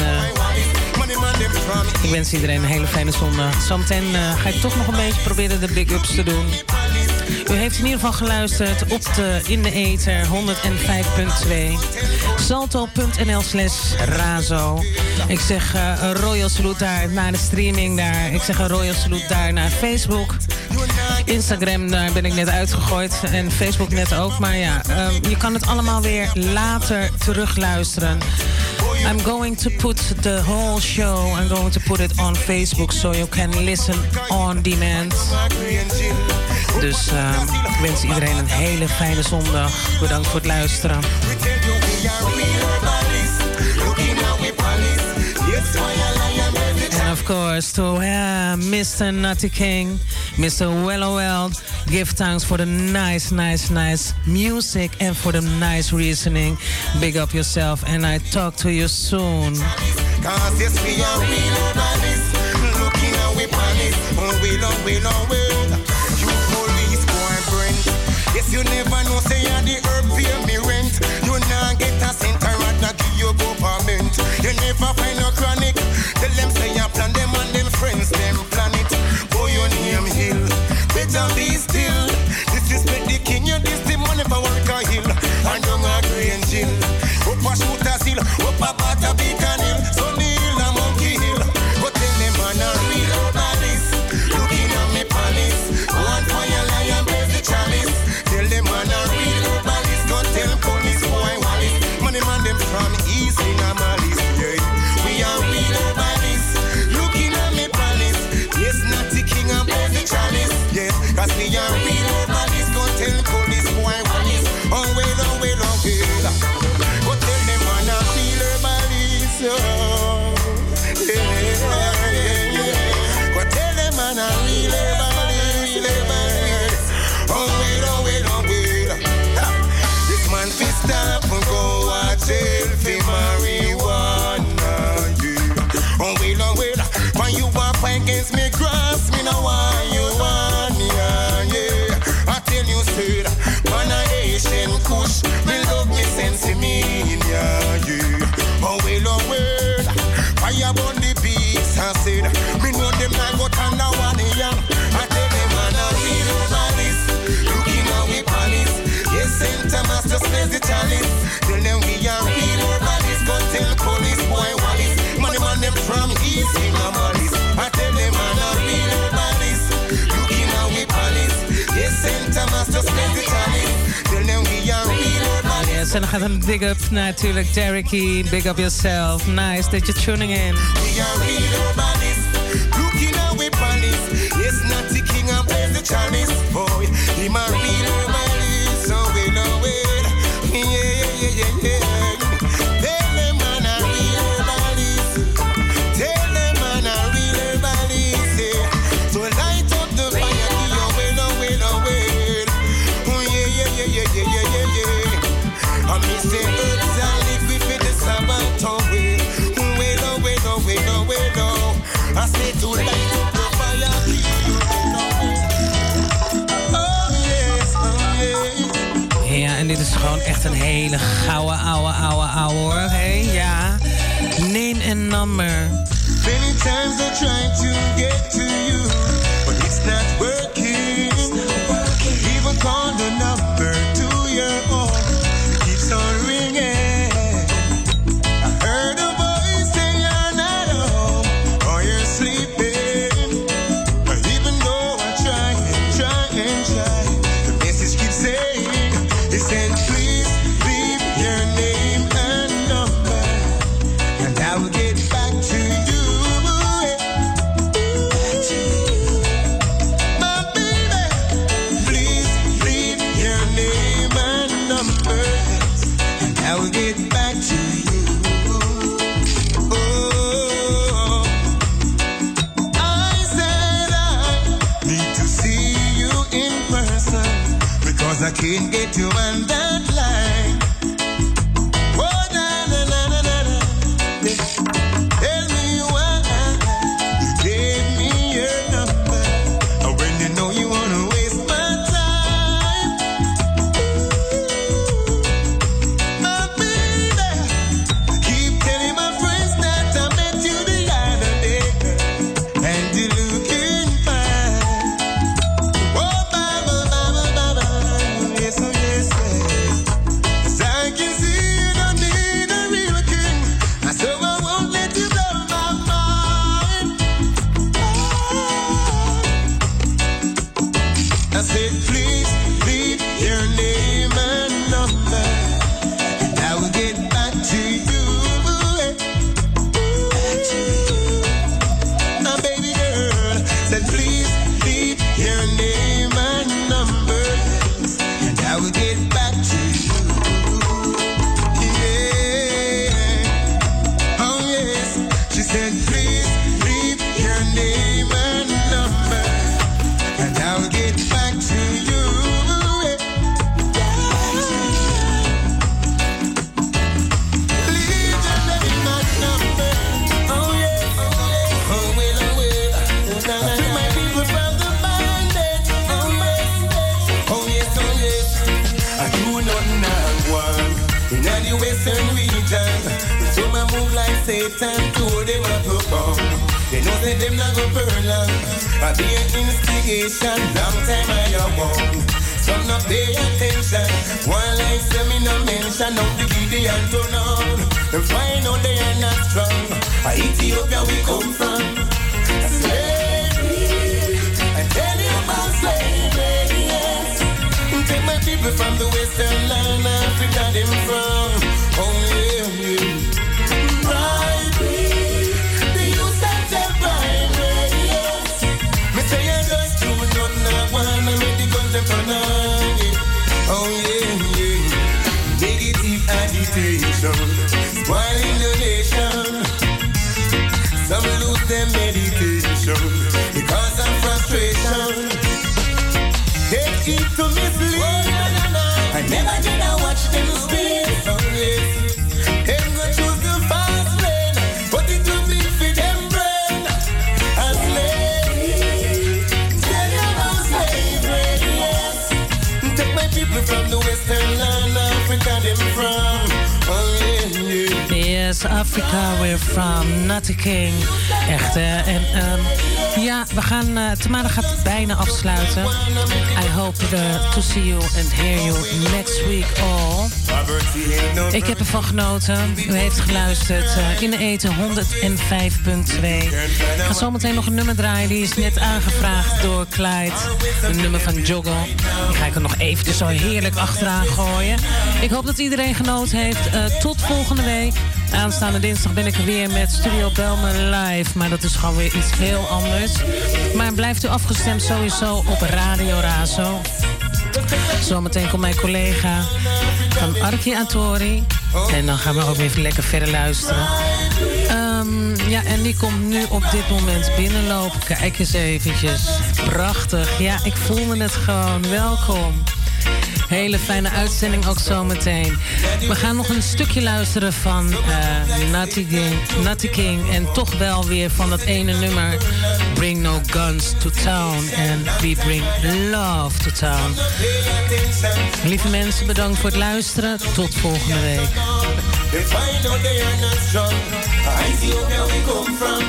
ik wens iedereen een hele fijne zondag. Zometeen ga ik toch nog een beetje proberen de big ups te doen. U heeft in ieder geval geluisterd op in de ether 105.2. Salto.nl/Razo. Ik zeg een royal salute daar naar de streaming daar. Ik zeg een royal salute daar naar Facebook. Instagram, daar ben ik net uitgegooid. En Facebook net ook. Maar ja, je kan het allemaal weer later terugluisteren. I'm going to put the whole show, I'm going to put it on Facebook so you can listen on demand. Dus ik wens iedereen een hele fijne zondag. Bedankt voor het luisteren. And of course to Mr. Nutty King, Mr. Welloweld, give thanks for the nice music and for the nice reasoning. Big up yourself and I talk to you soon. 'Cause yes, we are real well, oh, well, oh, well. You police boy Brent. Yes, you never know, say you're the herb, pay me rent. You nah get a cent, I rather give you government. You never find no chronic. Tell them say you plan them and them friends, them plan it. Boy, your name Hill. Better be still. Disrespect the king, you this the money for work a hill. And down a green jill. Up a shoot a seal, up a bat a beacon hill. Sunny hill a monkey hill. Go tell them man a real herbalist. Looking at me palace. One fire lion blaze the chalice. Tell them man a real herbalist. Go tell police boy Wallace. Money man them from east in a malice. Yeah. We are real herbalists. Looking at me palace. Yes, not the king and blaze the chalice. Yes, cause we are real herbalists. Go tell police boy Wallace. Oh well, oh well, oh well. Go tell them man a real herbalist. Oh, yeah, yeah, yeah. Go tell them man a real herbalist. Oh well, oh well, oh well. Ha. This man fi stop and go a jail fi marijuana. Yeah. Oh well, when you walk against me cross, me no want you on, yeah, yeah. I tell you straight, man a Asian kush, me love me sense me, yeah, yeah. Oh well, fire burn the beast, I said, me know them not go turn down one, yeah. I tell them man a real herbalist, looking at we palace, yes, Santa Master space the chalice. Tell them we are real herbalists, go tell police boy Wallace, money man them from east in a malice. I tell them man a real herbalist, looking at we palace, yes, Santa Master space the chalice. Tell them we are real herbalists. Yes, en dan gaat een big up natuurlijk. Derricky, big up yourself. Nice that you're tuning in. We are real herbalists, looking at we palace, yes, not the king and blaze the chalice. Boy, him a real herbalist, so we know it. Yeah, yeah, yeah, yeah. Tell them man a real herbalist. Tell them man a real herbalist. Yeah. So light up the fire, give your well, oh, well, oh, well. Oh, yeah, yeah, yeah, yeah, yeah, yeah, yeah, yeah. I me say herbs and liquid with the Sabbath, oh, well. Well, oh, well, oh, well, oh, well, oh. I say to light up the fire, give your well, oh, well. Oh, yes, oh, yes. Ja, en dit is gewoon echt een hele gouden, ouwe hoor. Hey, ja. Name and number. Many times I try to get to you, but it's not working. Even call the number to your own, it keeps on ringing. I heard a voice say you're not home, or you're sleeping. But even though I try and try and try, the message keeps saying, it said, please leave your name and number, and I will get back to you. I can't get you on that line. Oh, na na na na na na. Tell me why you gave me your number, and when you know you wanna waste my time. My baby, keep telling my friends that I met you the other day, and you're looking fine. Oh, baba, baba, baba. Yes, oh yes, yes. take time to hold them up above. They know that them not go burn long. I be an instigation, long time I am on. Some not pay attention. One life say me no mention. Now the Gideon turn on. Them find out they are not strong. Ethiopia we come from. Slavery. I tell you about slavery, yes. Take my people from the western land, Africa them from. Oh yeah, yeah. Bribery. The youth that take bribery, yes. Me say I just do nothing I wanna make the guns them turn on. Oh yeah, yeah. Negative agitation, spoiling the nation. Some lose their meditation because of frustration. They keep to mislead. I never did I watch them speak. Oh yes, them go choose the fast lane, but it will be for them brain. A slave, tell you about slavery, yes. Take my people from the western land, Africa them from. Oh yeah, yeah. Yes, Africa we're from, Natty King. Echt, hè? En ja, we gaan... Tamara gaat bijna afsluiten. I hope to see you and hear you next week all. Ik heb ervan genoten. U heeft geluisterd in de eten 105.2. Ik ga zometeen nog een nummer draaien. Die is net aangevraagd door Clyde. Een nummer van Joggle. Die ga ik er nog eventjes zo heerlijk achteraan gooien. Ik hoop dat iedereen genoten heeft. Tot volgende week. Aanstaande dinsdag ben ik er weer met Studio Belmer live. Maar dat is gewoon weer iets heel anders. Maar blijft u afgestemd sowieso op Radio Razo. Zometeen komt mijn collega van Arki Atori. En dan gaan we ook weer lekker verder luisteren. Ja, en die komt nu op dit moment binnenlopen. Kijk eens eventjes. Prachtig. Ja, ik voelde het gewoon. Welkom. Hele fijne uitzending ook zometeen. We gaan nog een stukje luisteren van Natty King. En toch wel weer van dat ene nummer. Bring no guns to town. En we bring love to town. Lieve mensen, bedankt voor het luisteren. Tot volgende week. They find out they are not strong. Ethiopia we come from.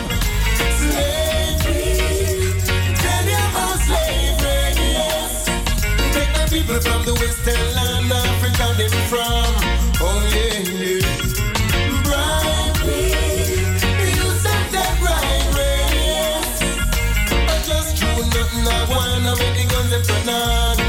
Slavery. Tell me about slavery, yes. Take the people from the western land, Africa them from. Oh yeah, yeah. Bribery. You said that bribery, yes. I just do nothing I wanna make the guns them turn on.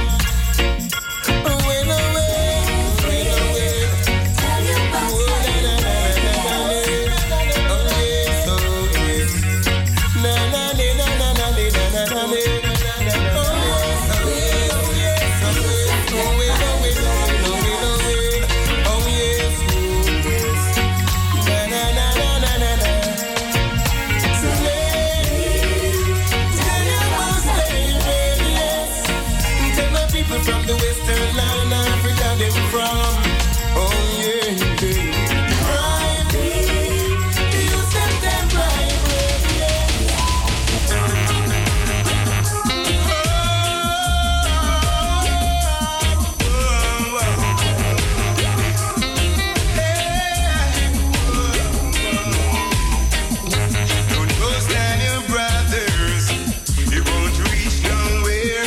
From the western land, Africa them from. Oh yeah, yeah. Bribery, you said them bribery, yeah. Don't go stand your brothers, you won't reach nowhere.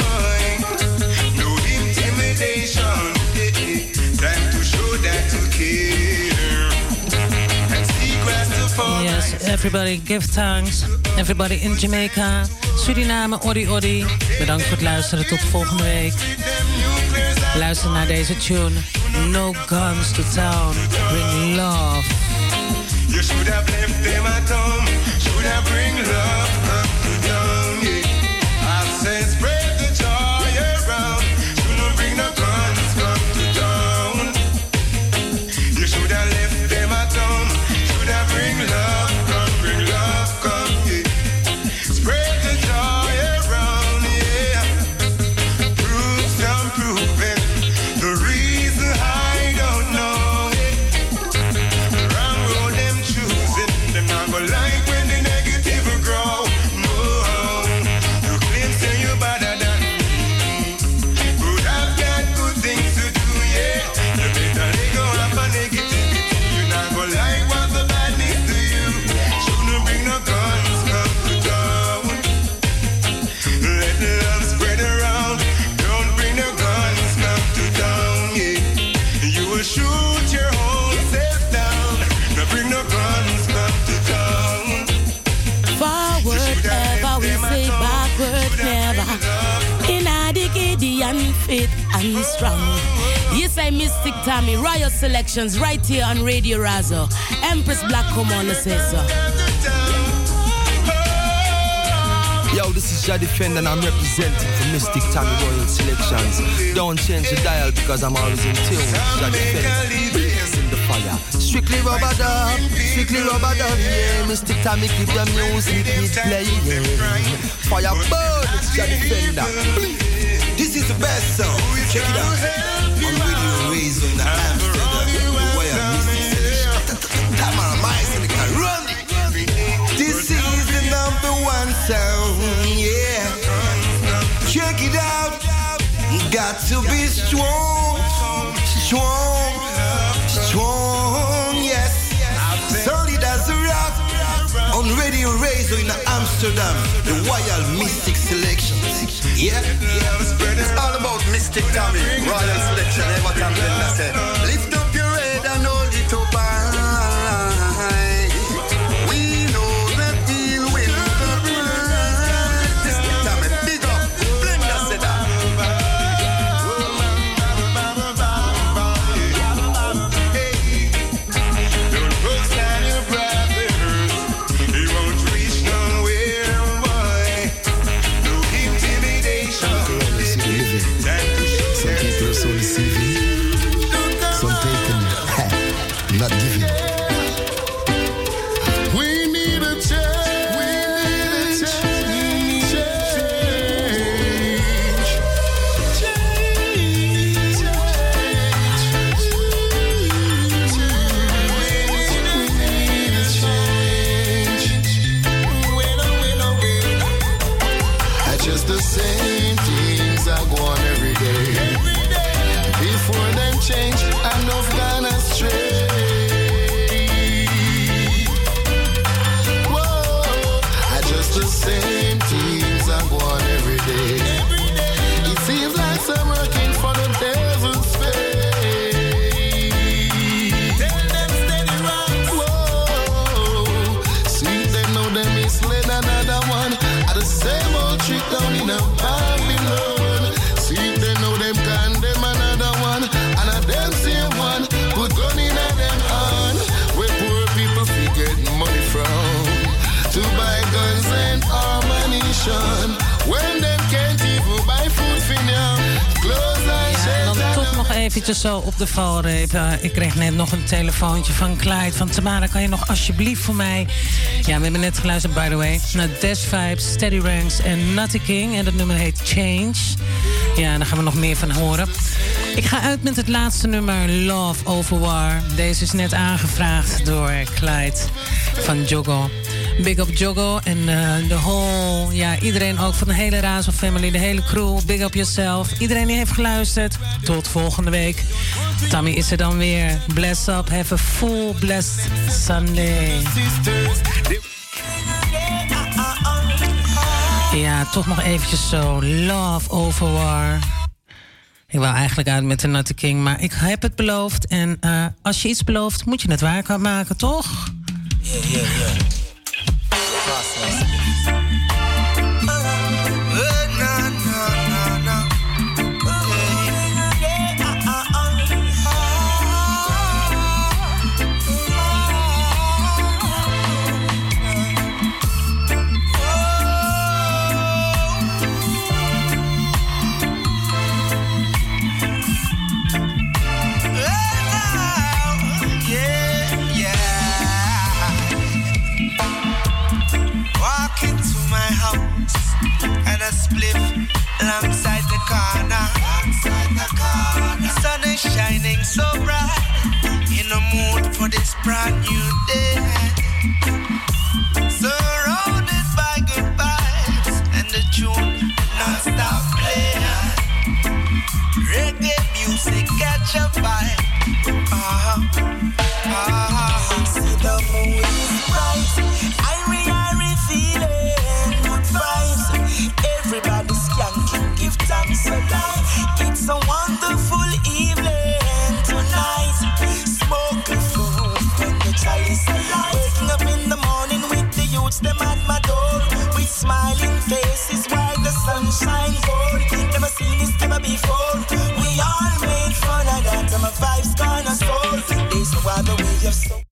Yes, everybody give thanks. Everybody in Jamaica, Suriname, Odi. Bedankt voor het luisteren. Tot volgende week. Luister naar deze tune. No guns to town. Bring love. You should have left them at home. Should have bring love up to down. Yeah. I said spread the joy around. Shouldn't bring no guns come to town. You should have left them at home. Should have bring love come, yeah. Spread the joy around, yeah. Proofs I'm proving. The reason I don't know it. The wrong road them choosing. They're not gonna like fit and strong. Yes, I Mystic Tommy, Royal Selections, right here on Radio Razo. Empress Black, come on, say so. Yo, this is Jah Defender and I'm representing for Mystic Tommy Royal Selections. Don't change the dial because I'm always in tune. Jah Defender, in the fire. Strictly rubber dub, yeah. Mystic Tommy, keep the music playing. Fire burn, it's Jah Defender. This is the best song. Check it out. On Radio Razo in the Amsterdam, the Royal Mystic Selection. Tamara Mice in the car, run it. This is the number one sound, yeah. Check it out. Got to be strong, yes. Solid as a rock. On Radio Razo in Amsterdam, the Royal Mystic Selection. Yeah. It's all about Mystic Tommy, Royal Selection. Every time I say, lift up your head and hold it up high. We know that he'll win the prize. Mystic Tommy, big up, Blender said that. Don't post down your brothers, he won't reach nowhere, boy. No intimidation. Some people are so deceiving. Some taking, not giving. We need a change. We need a change. Just the same things I go on every day. Before them change, enough gone astray. Whoa, I just the same things I go on every day. It seems like some working for the devil's face. Tell them steady right. Whoa, see them know them misled another one. At the same old trick down in a Babylon. See them know them condemn another one. And a them same one put gun in a them hand. Where poor people get money from to buy guns and ammunition. When them can't even buy food for them, clothes and Ja, en dan toch nog eventjes zo op de valreep. Ik kreeg net nog een telefoontje van Clyde. Van Tamara, kan je nog alsjeblieft voor mij... Ja, we hebben net geluisterd, by the way, naar Dash Vibes, Steady Ranks en Nutty King. En dat nummer heet Change. Ja, daar gaan we nog meer van horen. Ik ga uit met het laatste nummer, Love Over War. Deze is net aangevraagd door Clyde van Joggo. Big up Joggo en de whole... Ja, iedereen ook van de hele Razo family, de hele crew. Big up yourself. Iedereen die heeft geluisterd. Tot volgende week. Tommy is er dan weer. Bless up. Have a full blessed Sunday. Ja, toch nog eventjes zo. Love Over War. Ik wou eigenlijk uit met de Nutty King, maar ik heb het beloofd. En als je iets belooft, moet je het waar maken, toch? Yeah. A spliff alongside the corner. Sun is shining so bright. In the mood for this brand new day. Surrounded by good vibes and the tune non-stop playing. Reggae music catch a vibe. See the moon is bright. Irie feeling good vibes. Everybody's skanking, give thanks alive. It's a wonderful evening tonight. Smoke the food when the child is alive. Waking up in the morning with the you're so